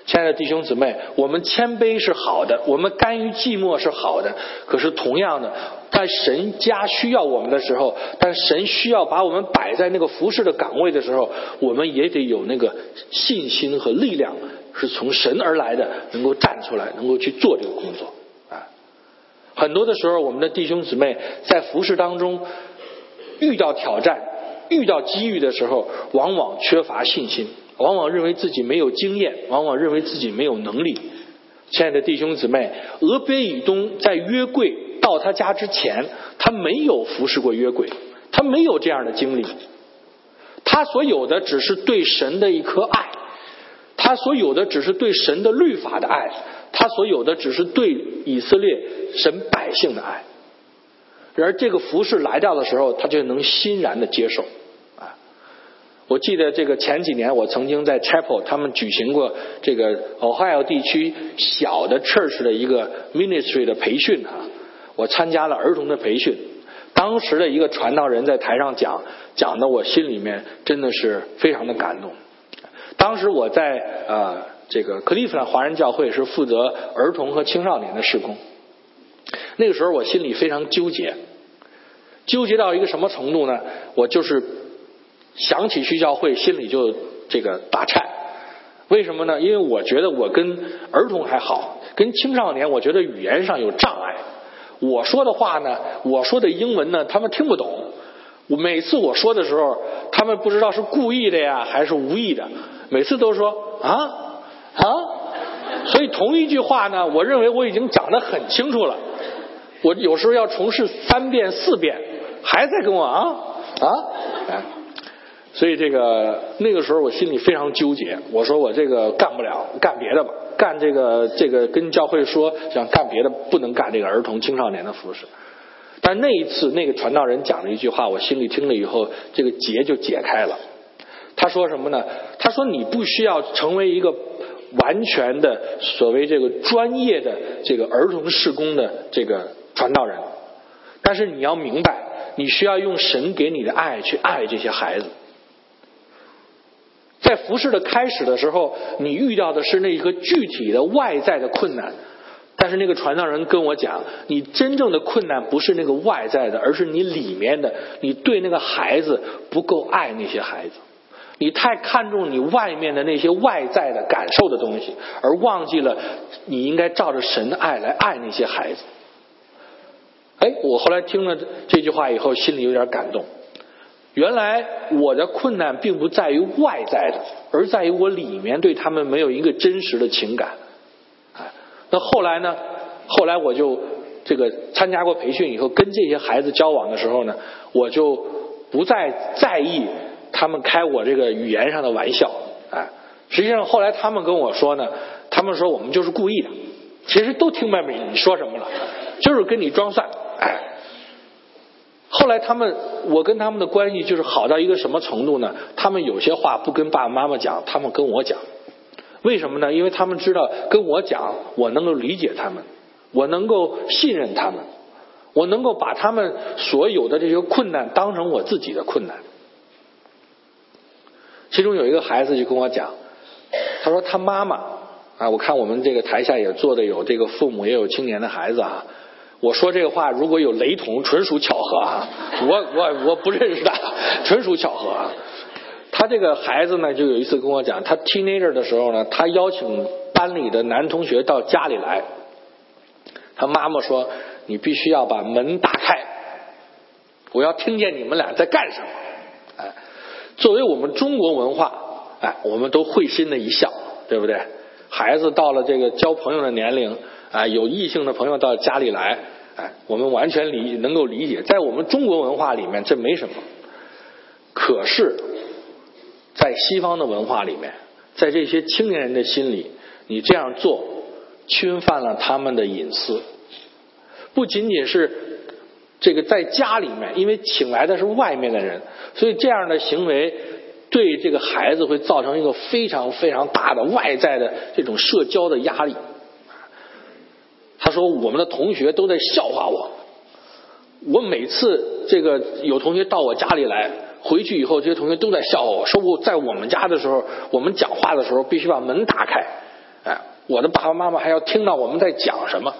亲爱的弟兄姊妹，我们谦卑是好的，我们甘于寂寞是好的，可是同样的，在神家需要我们的时候，但神需要把我们摆在那个服侍的岗位的时候，我们也得有那个信心和力量，是从神而来的，能够站出来，能够去做这个工作啊。很多的时候，我们的弟兄姊妹在服侍当中遇到挑战、遇到机遇的时候，往往缺乏信心，往往认为自己没有经验，往往认为自己没有能力。亲爱的弟兄姊妹，俄别以东在约柜到他家之前，他没有服侍过约柜，他没有这样的经历，他所有的只是对神的一颗爱，他所有的只是对神的律法的爱，他所有的只是对以色列神百姓的爱。然而这个服侍来到的时候，他就能欣然的接受啊。我记得这个前几年我曾经在 Chapel 他们举行过这个 Ohio 地区小的 church 的一个 ministry 的培训啊，我参加了儿童的培训。当时的一个传道人在台上讲，讲的我心里面真的是非常的感动。当时我在呃这个克利夫兰华人教会是负责儿童和青少年的事工，那个时候我心里非常纠结，纠结到一个什么程度呢？我就是想起去教会，心里就这个打颤。为什么呢？因为我觉得我跟儿童还好，跟青少年我觉得语言上有障碍。我说的话呢，我说的英文呢，他们听不懂。我每次我说的时候，他们不知道是故意的呀，还是无意的，每次都说啊啊。所以同一句话呢，我认为我已经讲得很清楚了，我有时候要重试三遍四遍，还在跟我啊啊哎。所以这个那个时候我心里非常纠结，我说我这个干不了，干别的吧，干这个这个跟教会说想干别的，不能干这个儿童青少年的服侍。但那一次那个传道人讲了一句话，我心里听了以后，这个结就解开了。他说什么呢？他说你不需要成为一个完全的所谓这个专业的这个儿童事工的这个传道人，但是你要明白，你需要用神给你的爱去爱这些孩子。在服事的开始的时候，你遇到的是那个具体的外在的困难，但是那个传道人跟我讲，你真正的困难不是那个外在的，而是你里面的，你对那个孩子不够爱那些孩子，你太看重你外面的那些外在的感受的东西，而忘记了你应该照着神的爱来爱那些孩子。哎，我后来听了这句话以后，心里有点感动。原来我的困难并不在于外在的，而在于我里面对他们没有一个真实的情感。那后来呢？后来我就这个参加过培训以后，跟这些孩子交往的时候呢，我就不再在意他们开我这个语言上的玩笑。哎，实际上后来他们跟我说呢，他们说我们就是故意的，其实都听明白你说什么了，就是跟你装蒜。哎。后来他们，我跟他们的关系就是好到一个什么程度呢？他们有些话不跟爸爸妈妈讲，他们跟我讲。为什么呢？因为他们知道跟我讲，我能够理解他们，我能够信任他们，我能够把他们所有的这些困难当成我自己的困难。其中有一个孩子就跟我讲，他说他妈妈啊，我看我们这个台下也坐的有这个父母也有青年的孩子啊。我说这个话如果有雷同，纯属巧合啊！我我我不认识他，纯属巧合啊！他这个孩子呢，就有一次跟我讲，他 teenager 的时候呢，他邀请班里的男同学到家里来，他妈妈说：“你必须要把门打开，我要听见你们俩在干什么。”哎，作为我们中国文化，哎，我们都会心的一笑，对不对？孩子到了这个交朋友的年龄。啊，有异性的朋友到家里来，哎，我们完全理能够理解，在我们中国文化里面这没什么。可是，在西方的文化里面，在这些青年人的心里，你这样做侵犯了他们的隐私。不仅仅是这个在家里面，因为请来的是外面的人，所以这样的行为对这个孩子会造成一个非常非常大的外在的这种社交的压力。他说我们的同学都在笑话我，我每次这个有同学到我家里来，回去以后这些同学都在笑话我，说我在我们家的时候，我们讲话的时候必须把门打开， 我的爸爸妈妈还要听到我们在讲什么。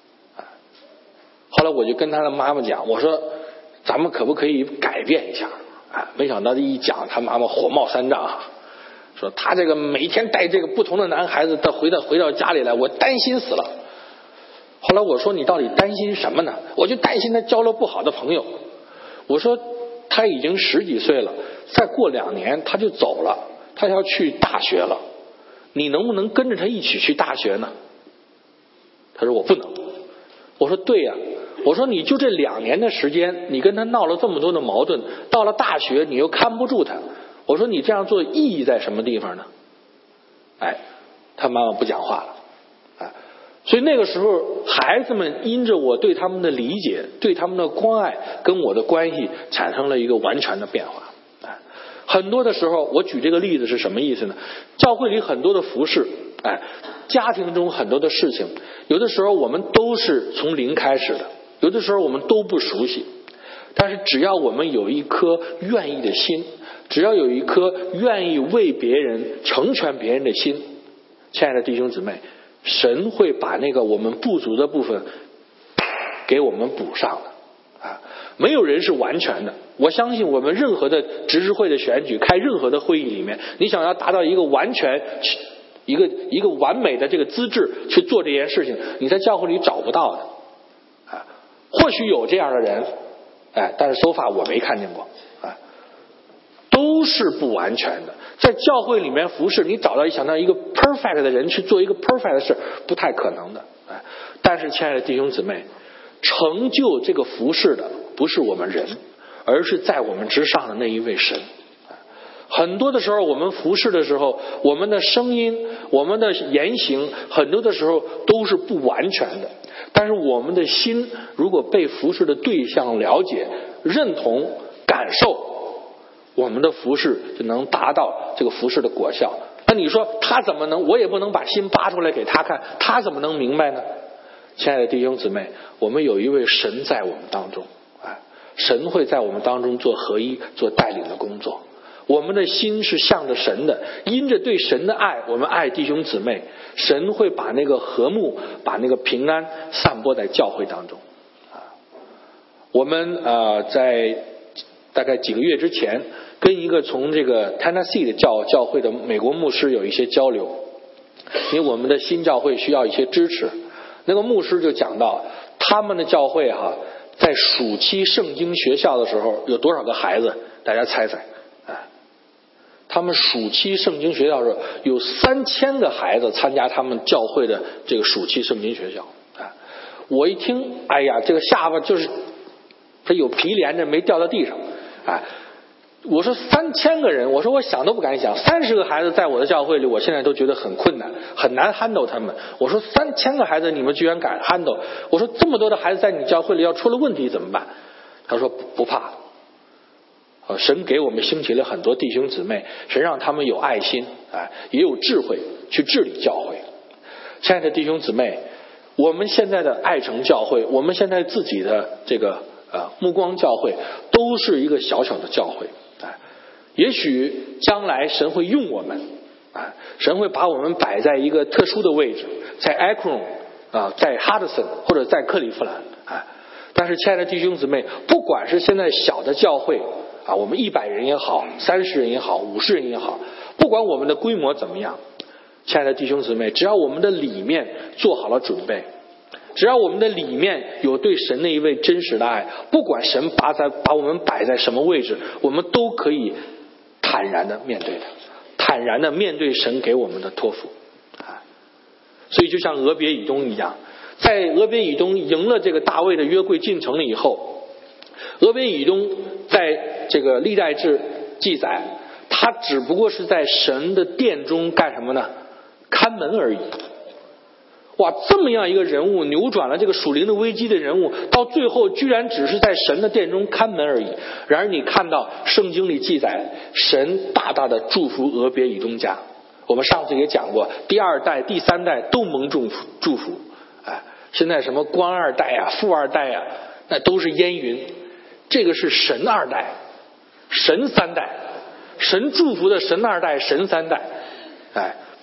后来我就跟他的妈妈讲，我说咱们可不可以改变一下？啊，没想到这一讲，他妈妈火冒三丈啊，说他这个每天带这个不同的男孩子，他回到回到家里来，我担心死了。后来我说你到底担心什么呢？我就担心他交了不好的朋友。我说他已经十几岁了，再过两年他就走了，他要去大学了，你能不能跟着他一起去大学呢？他说我不能。我说对呀、啊，我说你就这两年的时间，你跟他闹了这么多的矛盾，到了大学你又看不住他，我说你这样做意义在什么地方呢？哎，他妈妈不讲话了。哎，所以那个时候孩子们因着我对他们的理解，对他们的关爱，跟我的关系产生了一个完全的变化。哎，很多的时候我举这个例子是什么意思呢？教会里很多的服事，哎，家庭中很多的事情，有的时候我们都是从零开始的，有的时候我们都不熟悉，但是只要我们有一颗愿意的心，只要有一颗愿意为别人成全别人的心，亲爱的弟兄姊妹，神会把那个我们不足的部分给我们补上的啊！没有人是完全的。我相信我们任何的执事会的选举，开任何的会议里面，你想要达到一个完全一个一个完美的这个资质去做这件事情，你在教会里找不到的啊。或许有这样的人，哎，但是 so far 我没看见过啊，都是不完全的。在教会里面服侍，你找到一想到一个 perfect 的人去做一个 perfect 的事，不太可能的。哎，但是亲爱的弟兄姊妹，成就这个服侍的不是我们人，而是在我们之上的那一位神。很多的时候我们服侍的时候，我们的声音，我们的言行，很多的时候都是不完全的，但是我们的心如果被服侍的对象了解、认同、感受，我们的服侍就能达到这个服侍的果效。那你说他怎么能，我也不能把心扒出来给他看，他怎么能明白呢？亲爱的弟兄姊妹，我们有一位神在我们当中，哎，神会在我们当中做合一、做带领的工作。我们的心是向着神的，因着对神的爱，我们爱弟兄姊妹，神会把那个和睦、把那个平安散播在教会当中。啊，我们呃在大概几个月之前，跟一个从这个 Tennessee 的教教会的美国牧师有一些交流，因为我们的新教会需要一些支持。那个牧师就讲到，他们的教会哈、啊，在暑期圣经学校的时候有多少个孩子？大家猜猜。他们暑期圣经学校的时候有三千个孩子参加他们教会的这个暑期圣经学校啊！我一听，哎呀，这个下巴就是他有皮连着没掉到地上啊！我说三千个人，我说我想都不敢想，三十个孩子在我的教会里，我现在都觉得很困难，很难 handle 他们。我说三千个孩子你们居然敢 handle？ 我说这么多的孩子在你教会里要出了问题怎么办？他说不不怕。神给我们兴起了很多弟兄姊妹，神让他们有爱心，哎，也有智慧去治理教会。亲爱的弟兄姊妹，我们现在的爱城教会，我们现在自己的这个呃目光教会，都是一个小小的教会，哎，也许将来神会用我们，哎，神会把我们摆在一个特殊的位置，在 Akron 啊，在 Hudson 或者在克利夫兰，哎，但是亲爱的弟兄姊妹，不管是现在小的教会。啊，我们一百人也好，三十人也好，五十人也好，不管我们的规模怎么样，亲爱的弟兄姊妹，只要我们的里面做好了准备，只要我们的里面有对神那一位真实的爱，不管神把在把我们摆在什么位置，我们都可以坦然的面对的，坦然的面对神给我们的托付。啊，所以就像俄别以东一样，在俄别以东赢了这个大卫的约柜进城了以后，俄别以东在这个历代志记载，他只不过是在神的殿中干什么呢？看门而已。哇，这么样一个人物，扭转了这个属灵的危机的人物，到最后居然只是在神的殿中看门而已。然而你看到圣经里记载，神大大的祝福俄别以东家。我们上次也讲过，第二代、第三代都蒙祝福祝福。哎，现在什么官二代啊、富二代啊，那都是烟云。这个是神二代。神三代，神祝福的神二代，神三代，哎，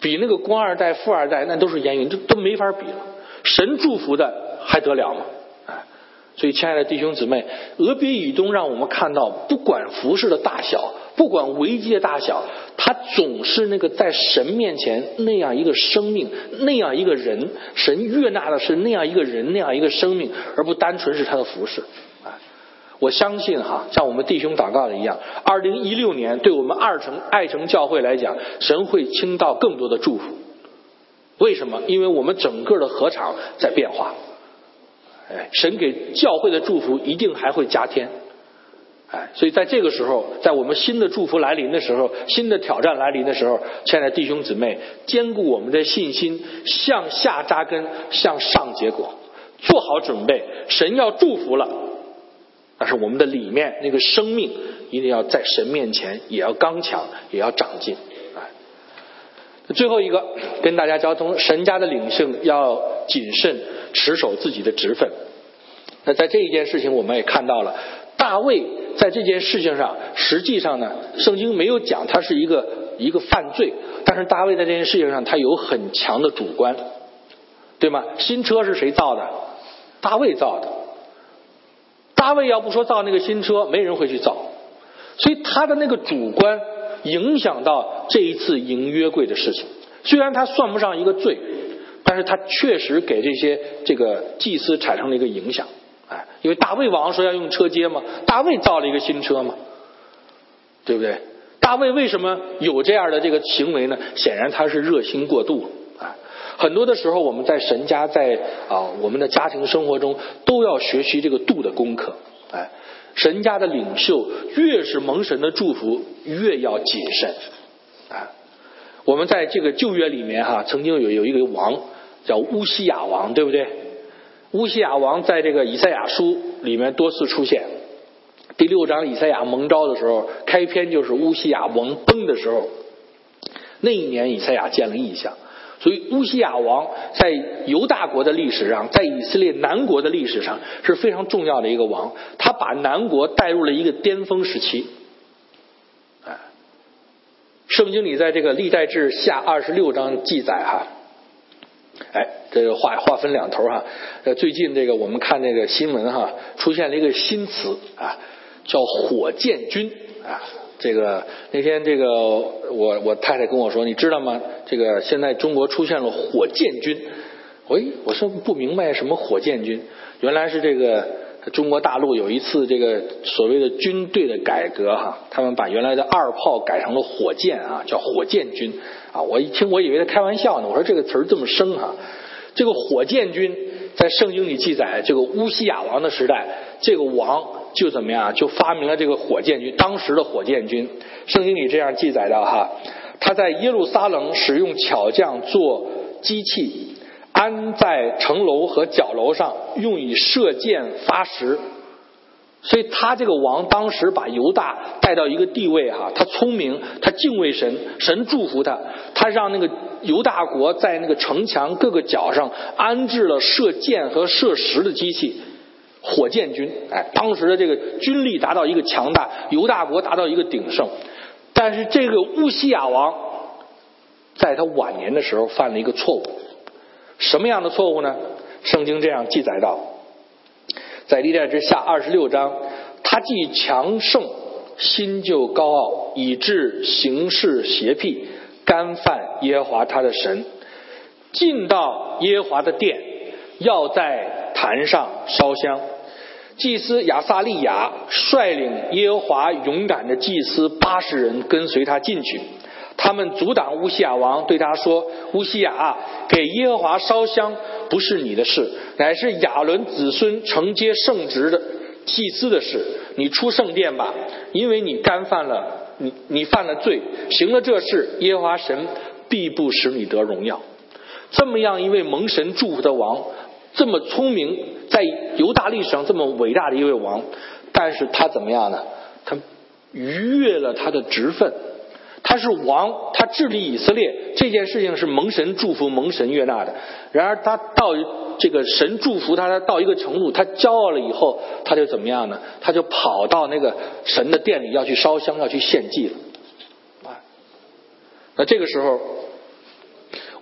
比那个官二代、富二代那都是烟云，这都没法比了。神祝福的还得了吗？哎，所以亲爱的弟兄姊妹，俄别以东让我们看到，不管服事的大小，不管危机的大小，他总是那个在神面前那样一个生命，那样一个人，神悦纳的是那样一个人，那样一个生命，而不单纯是他的服事。我相信哈，像我们弟兄祷告的一样，二零一六年对我们二城爱城教会来讲，神会倾倒更多的祝福。为什么？因为我们整个的禾场在变化，哎，神给教会的祝福一定还会加添。哎，所以在这个时候，在我们新的祝福来临的时候，新的挑战来临的时候，亲爱的弟兄姊妹，坚固我们的信心，向下扎根，向上结果，做好准备。神要祝福了，但是我们的里面那个生命一定要在神面前也要刚强，也要长进。哎，最后一个跟大家交通，神家的领袖要谨慎持守自己的职分。那在这一件事情我们也看到了，大卫在这件事情上，实际上呢，圣经没有讲他是一个一个犯罪，但是大卫在这件事情上他有很强的主观，对吗？新车是谁造的？大卫造的。大卫要不说造那个新车，没人会去造，所以他的那个主观影响到这一次迎约柜的事情。虽然他算不上一个罪，但是他确实给这些这个祭司产生了一个影响。哎，因为大卫王说要用车接嘛，大卫造了一个新车嘛，对不对？大卫为什么有这样的这个行为呢？显然他是热心过度。哎，很多的时候我们在神家，在啊我们的家庭生活中都要学习这个度的功课。哎，神家的领袖越是蒙神的祝福，越要谨慎。啊，我们在这个旧约里面哈，曾经有有一个王叫乌西雅王，对不对？乌西雅王在这个以赛亚书里面多次出现。第六章以赛亚蒙召的时候，开篇就是乌西雅王崩的时候，那一年以赛亚见了异象。所以乌西雅王在犹大国的历史上，在以色列南国的历史上是非常重要的一个王，他把南国带入了一个巅峰时期。哎，圣经里在这个历代志下二十六章记载哈，哎，这个话话分两头哈。呃，最近这个我们看这个新闻哈，出现了一个新词啊，叫火箭军啊。这个那天这个我我太太跟我说，你知道吗？这个现在中国出现了火箭军。喂，我说不明白什么火箭军，原来是这个中国大陆有一次这个所谓的军队的改革哈，他们把原来的二炮改成了火箭啊，叫火箭军啊。我一听我以为他开玩笑呢，我说这个词儿这么生哈。这个火箭军在圣经里记载，这个乌西雅王的时代，这个王就怎么样，就发明了这个火箭军。当时的火箭军，圣经里这样记载到哈，他在耶路撒冷使用巧匠做机器，安在城楼和角楼上，用以射箭发石。所以他这个王当时把犹大带到一个地位哈，他聪明，他敬畏神，神祝福他，他让那个犹大国在那个城墙各个角上安置了射箭和射石的机器，火箭军。哎，当时的这个军力达到一个强大，犹大国达到一个鼎盛。但是这个乌西雅王在他晚年的时候犯了一个错误。什么样的错误呢？圣经这样记载到，在历代之下二十六章，他既强盛，心就高傲，以致行事邪僻，干犯耶和华他的神，进到耶和华的殿，要在坛上烧香。祭司亚撒利雅率领耶和华勇敢的祭司八十人跟随他进去，他们阻挡乌西雅王，对他说：乌西雅，给耶和华烧香不是你的事，乃是亚伦子孙承接圣职的祭司的事。你出圣殿吧，因为你干犯了你你犯了罪，行了这事，耶和华神必不使你得荣耀。这么样一位蒙神祝福的王，这么聪明，在犹大历史上这么伟大的一位王，但是他怎么样呢？他逾越了他的职分。他是王，他治理以色列，这件事情是蒙神祝福、蒙神悦纳的。然而他到这个神祝福他，他到一个程度，他骄傲了以后，他就怎么样呢？他就跑到那个神的殿里要去烧香，要去献祭了。啊，那这个时候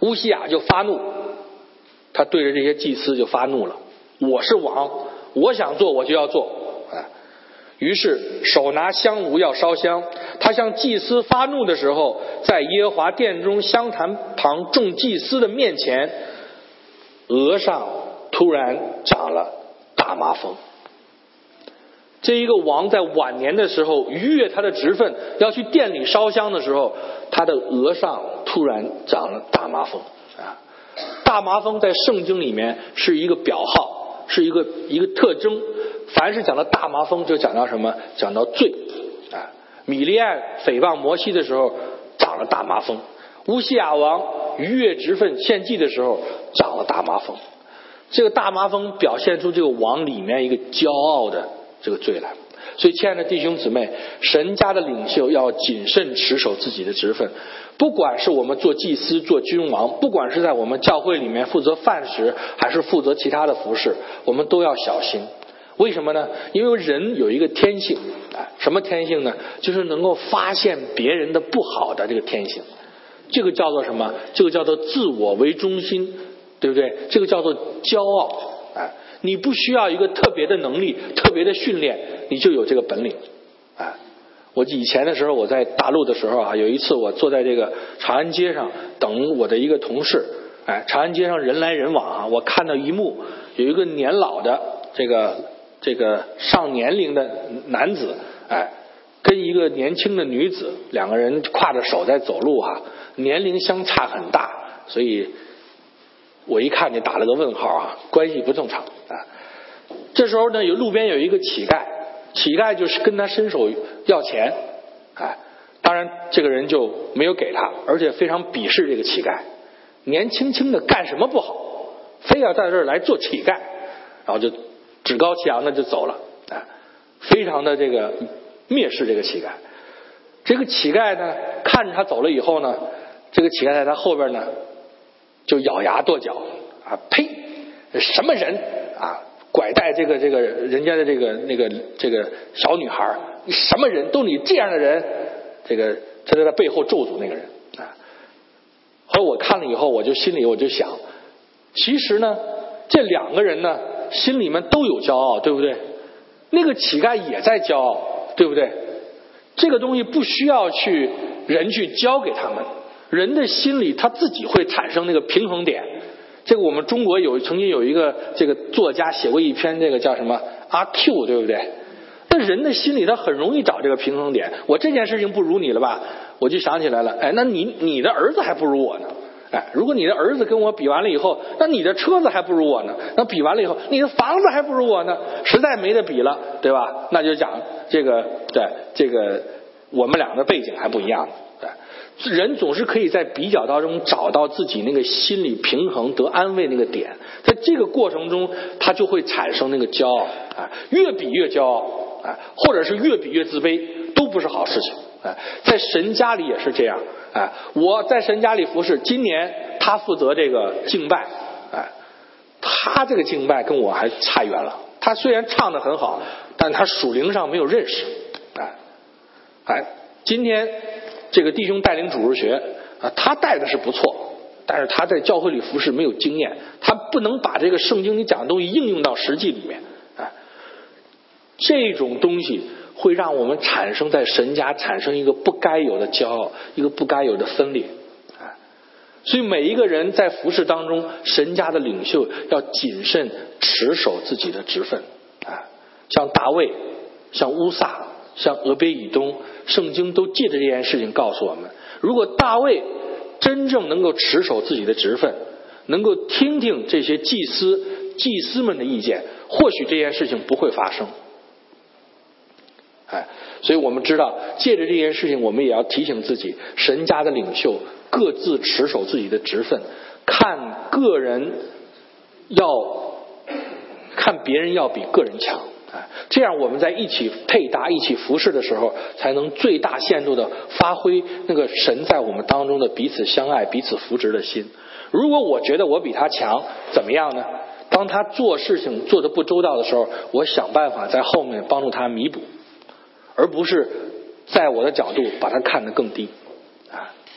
乌西雅就发怒，他对着这些祭司就发怒了，我是王，我想做我就要做。哎，于是手拿香炉要烧香，他向祭司发怒的时候，在耶和华殿中香坛旁众祭司的面前，额上突然长了大麻风。这一个王在晚年的时候逾越他的职分，要去殿里烧香的时候，他的额上突然长了大麻风啊！大麻风在圣经里面是一个表号，是一个一个特征。凡是讲到大麻风，就讲到什么？讲到罪啊！米利暗诽谤摩西的时候长了大麻风，乌西雅王逾越职分献祭的时候长了大麻风。这个大麻风表现出这个王里面一个骄傲的这个罪来。所以亲爱的弟兄姊妹，神家的领袖要谨慎持守自己的职分，不管是我们做祭司做君王，不管是在我们教会里面负责饭食还是负责其他的服事，我们都要小心。为什么呢？因为人有一个天性，什么天性呢？就是能够发现别人的不好的这个天性。这个叫做什么？这个叫做自我为中心，对不对？这个叫做骄傲。哎，你不需要一个特别的能力特别的训练，你就有这个本领。哎，我以前的时候我在大陆的时候啊，有一次我坐在这个长安街上等我的一个同事。哎，长安街上人来人往啊，我看到一幕，有一个年老的这个这个上年龄的男子，哎，跟一个年轻的女子，两个人挎着手在走路哈、啊，年龄相差很大，所以我一看就打了个问号啊，关系不正常啊。这时候呢，有路边有一个乞丐，乞丐就是跟他伸手要钱，哎，当然这个人就没有给他，而且非常鄙视这个乞丐，年轻轻的干什么不好，非要在这儿来做乞丐，然后就趾高气扬的就走了，哎，非常的这个蔑视这个乞丐。这个乞丐呢，看着他走了以后呢，这个乞丐在他后边呢就咬牙跺脚啊，呸，什么人啊，拐带这个这个人家的这个那个这个小女孩，你什么人，都你这样的人，这个他在他背后咒诅那个人啊。后来我看了以后，我就心里我就想，其实呢，这两个人呢心里面都有骄傲，对不对？那个乞丐也在骄傲，对不对？这个东西不需要去人去教给他们，人的心里他自己会产生那个平衡点。这个我们中国有曾经有一个这个作家写过一篇这个叫什么阿 Q， 对不对？那人的心里他很容易找这个平衡点。我这件事情不如你了吧，我就想起来了，哎，那你你的儿子还不如我呢。哎，如果你的儿子跟我比完了以后，那你的车子还不如我呢。那比完了以后，你的房子还不如我呢，实在没得比了，对吧？那就讲这个，对这个我们俩的背景还不一样。对，人总是可以在比较当中找到自己那个心理平衡得安慰那个点，在这个过程中，他就会产生那个骄傲啊，越比越骄傲啊，或者是越比越自卑，都不是好事情。哎，在神家里也是这样。哎，我在神家里服侍，今年他负责这个敬拜，哎，他这个敬拜跟我还差远了。他虽然唱得很好，但他属灵上没有认识。哎，哎，今天这个弟兄带领主日学啊，他带的是不错，但是他在教会里服侍没有经验，他不能把这个圣经里讲的东西应用到实际里面。哎，这种东西会让我们产生在神家产生一个不该有的骄傲，一个不该有的分裂。所以每一个人在服事当中，神家的领袖要谨慎持守自己的职分。像大卫，像乌撒，像俄别以东，圣经都借着这件事情告诉我们，如果大卫真正能够持守自己的职分，能够听听这些祭司祭司们的意见，或许这件事情不会发生。哎，所以我们知道，借着这件事情，我们也要提醒自己，神家的领袖各自持守自己的职分，看个人要看别人要比个人强。哎，这样我们在一起配搭、一起服侍的时候，才能最大限度的发挥那个神在我们当中的彼此相爱、彼此扶持的心。如果我觉得我比他强，怎么样呢？当他做事情做得不周到的时候，我想办法在后面帮助他弥补，而不是在我的角度把他看得更低。啊，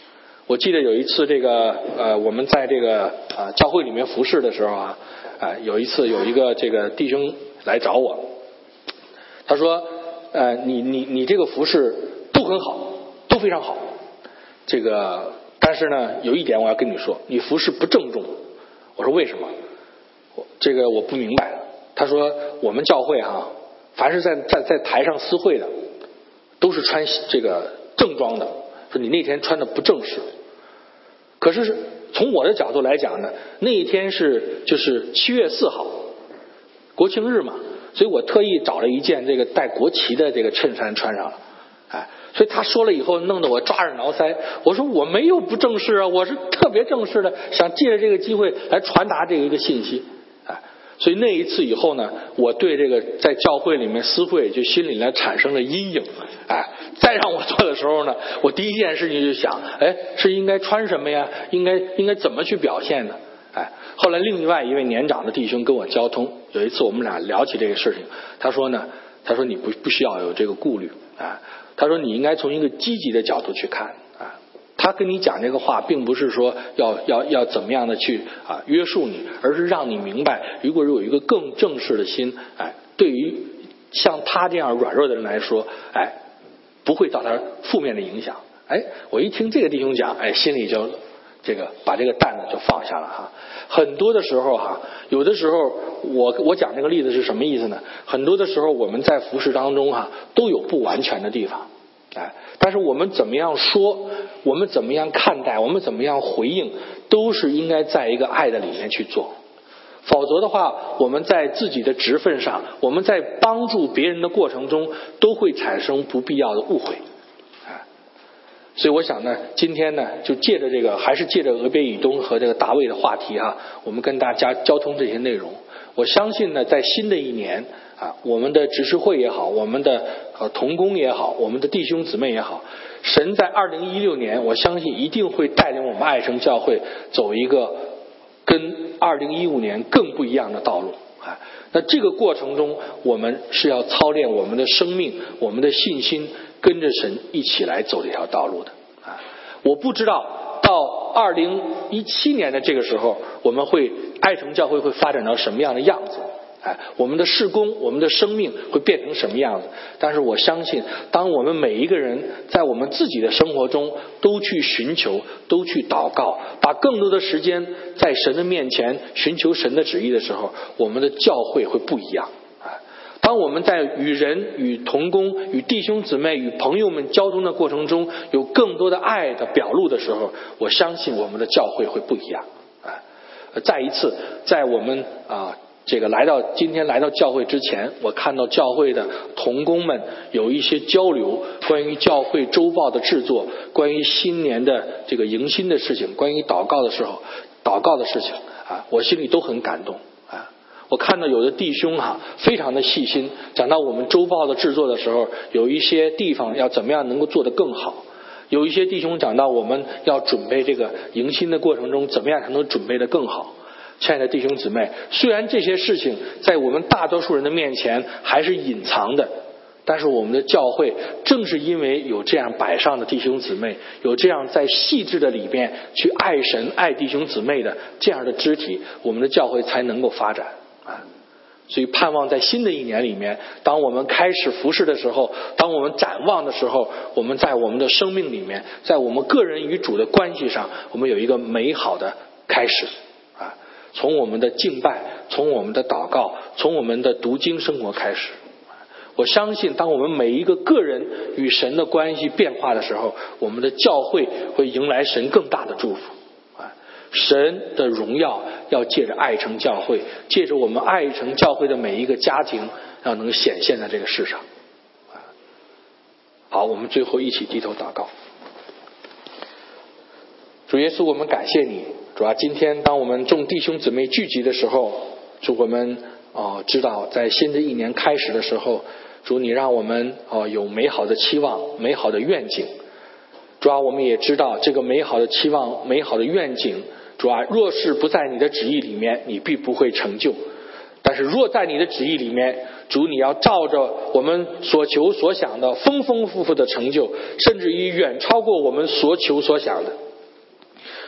我记得有一次这个呃我们在这个呃教会里面服侍的时候啊，呃有一次有一个这个弟兄来找我，他说呃你你你这个服侍都很好，都非常好，这个但是呢有一点我要跟你说，你服侍不郑重。我说为什么？这个我不明白。他说我们教会哈、啊，凡是在在在台上私会的都是穿这个正装的，说你那天穿的不正式。可是从我的角度来讲呢，那一天是就是七月四号国庆日嘛，所以我特意找了一件这个带国旗的这个衬衫穿上了。哎，所以他说了以后弄得我抓耳挠腮。我说我没有不正式啊，我是特别正式的，想借着这个机会来传达这个一个信息。哎，所以那一次以后呢，我对这个在教会里面私会就心里来产生了阴影。哎，再让我做的时候呢，我第一件事情就想，哎，是应该穿什么呀？应该应该怎么去表现呢？哎，后来另外一位年长的弟兄跟我交通，有一次我们俩聊起这个事情，他说呢，他说你不不需要有这个顾虑啊，他说你应该从一个积极的角度去看啊。他跟你讲这个话，并不是说要要要怎么样的去啊约束你，而是让你明白，如果有一个更正式的心，哎，对于像他这样软弱的人来说，哎，不会造成负面的影响。哎，我一听这个弟兄讲，哎，心里就这个把这个担子就放下了哈。很多的时候哈，有的时候我我讲这个例子是什么意思呢？很多的时候我们在服事当中哈，都有不完全的地方，哎，但是我们怎么样说，我们怎么样看待，我们怎么样回应，都是应该在一个爱的里面去做。否则的话，我们在自己的职分上，我们在帮助别人的过程中，都会产生不必要的误会。所以我想呢，今天呢，就借着这个，还是借着俄别以东和这个大卫的话题啊，我们跟大家交通这些内容。我相信呢，在新的一年啊，我们的执事会也好，我们的呃同工也好，我们的弟兄姊妹也好，神在二零一六年，我相信一定会带领我们爱城教会走一个跟二零一五年更不一样的道路啊。那这个过程中，我们是要操练我们的生命，我们的信心，跟着神一起来走这条道路的啊！我不知道到二零一七年的这个时候，我们会爱城教会会发展到什么样的样子？哎，我们的事工，我们的生命会变成什么样子？但是我相信，当我们每一个人在我们自己的生活中都去寻求，都去祷告，把更多的时间在神的面前寻求神的旨意的时候，我们的教会会不一样。当我们在与人、与同工、与弟兄姊妹、与朋友们交通的过程中，有更多的爱的表露的时候，我相信我们的教会会不一样。啊，再一次，在我们啊这个来到今天来到教会之前，我看到教会的同工们有一些交流，关于教会周报的制作，关于新年的这个迎新的事情，关于祷告的时候祷告的事情啊，我心里都很感动。我看到有的弟兄哈、啊、非常的细心，讲到我们周报的制作的时候，有一些地方要怎么样能够做得更好，有一些弟兄讲到我们要准备这个迎新的过程中怎么样才能准备得更好。亲爱的弟兄姊妹，虽然这些事情在我们大多数人的面前还是隐藏的，但是我们的教会正是因为有这样摆上的弟兄姊妹，有这样在细致的里面去爱神爱弟兄姊妹的这样的肢体，我们的教会才能够发展啊。所以盼望在新的一年里面，当我们开始服事的时候，当我们展望的时候，我们在我们的生命里面，在我们个人与主的关系上，我们有一个美好的开始啊。从我们的敬拜，从我们的祷告，从我们的读经生活开始。我相信当我们每一个个人与神的关系变化的时候，我们的教会会迎来神更大的祝福。神的荣耀要借着爱城教会，借着我们爱城教会的每一个家庭，要能显现在这个世上。好，我们最后一起低头祷告。主耶稣，我们感谢你，主啊，今天当我们众弟兄姊妹聚集的时候，主我们哦知道在新的一年开始的时候，主你让我们哦有美好的期望，美好的愿景。主啊，我们也知道这个美好的期望，美好的愿景，主啊，若是不在你的旨意里面，你必不会成就。但是若在你的旨意里面，主你要照着我们所求所想的丰丰富富的成就，甚至于远超过我们所求所想的。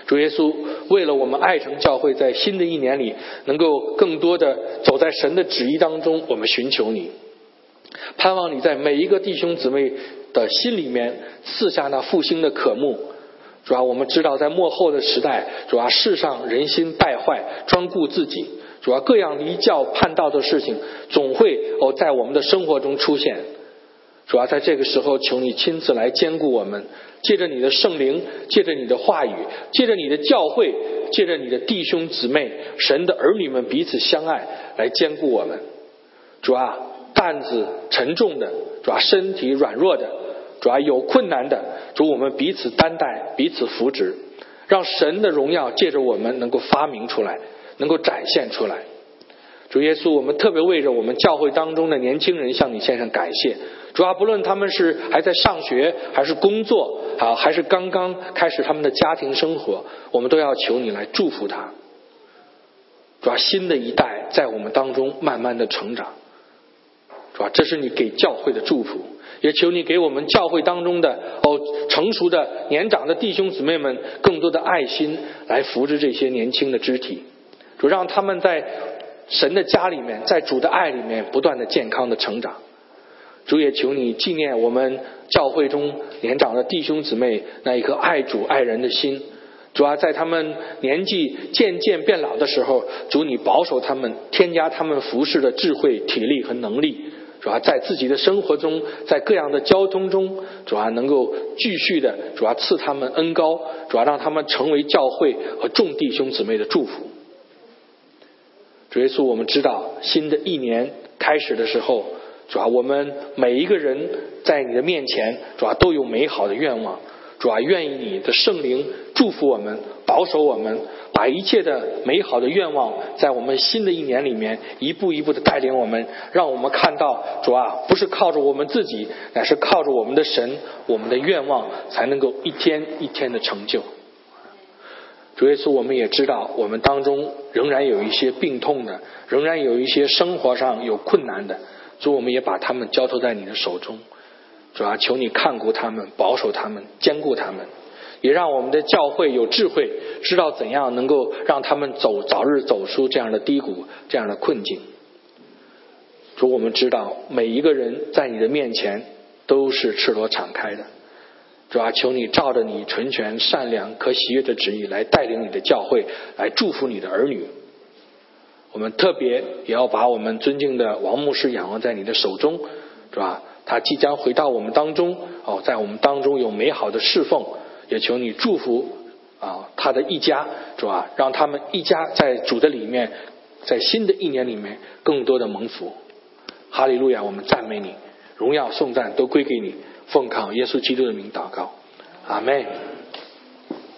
主耶稣，为了我们爱城教会在新的一年里能够更多的走在神的旨意当中，我们寻求你，盼望你在每一个弟兄姊妹的心里面赐下那复兴的渴慕。主要我们知道在末后的时代，主要世上人心败坏，专顾自己，主要各样离教叛道的事情总会哦在我们的生活中出现。主要在这个时候，求你亲自来兼顾我们，借着你的圣灵，借着你的话语，借着你的教会，借着你的弟兄姊妹，神的儿女们彼此相爱，来兼顾我们。主啊，担子沉重的，主啊，身体软弱的，主啊，有困难的，主我们彼此担待，彼此扶持，让神的荣耀借着我们能够发明出来，能够展现出来。主耶稣，我们特别为着我们教会当中的年轻人向你献上感谢。主啊，不论他们是还在上学，还是工作啊，还是刚刚开始他们的家庭生活，我们都要求你来祝福他。主啊，新的一代在我们当中慢慢的成长，主啊，这是你给教会的祝福，也求你给我们教会当中的哦成熟的年长的弟兄姊妹们更多的爱心，来扶持这些年轻的肢体。主，让他们在神的家里面，在主的爱里面不断的健康的成长。主也求你纪念我们教会中年长的弟兄姊妹那一颗爱主爱人的心。主啊，在他们年纪渐渐变老的时候，主你保守他们，添加他们服侍的智慧、体力和能力。主啊，在自己的生活中，在各样的交通中，主啊能够继续的主啊赐他们恩膏，主啊让他们成为教会和众弟兄姊妹的祝福。主耶稣，我们知道新的一年开始的时候，主啊，我们每一个人在你的面前，主啊都有美好的愿望。主啊，愿意你的圣灵祝福我们，保守我们，把一切的美好的愿望在我们新的一年里面一步一步的带领我们，让我们看到主啊，不是靠着我们自己，乃是靠着我们的神，我们的愿望才能够一天一天的成就。主耶稣，我们也知道我们当中仍然有一些病痛的，仍然有一些生活上有困难的，主，我们也把他们交托在你的手中。主啊，求你看顾他们，保守他们，兼顾他们，也让我们的教会有智慧，知道怎样能够让他们走早日走出这样的低谷，这样的困境。主，我们知道每一个人在你的面前都是赤裸敞开的。主啊，求你照着你纯全善良可喜悦的旨意来带领你的教会，来祝福你的儿女。我们特别也要把我们尊敬的王牧师仰望在你的手中，是吧？他即将回到我们当中，哦，在我们当中有美好的侍奉，也求你祝福啊他的一家，是吧？让他们一家在主的里面，在新的一年里面更多的蒙福。哈利路亚，我们赞美你，荣耀颂赞都归给你，奉靠耶稣基督的名祷告，阿们。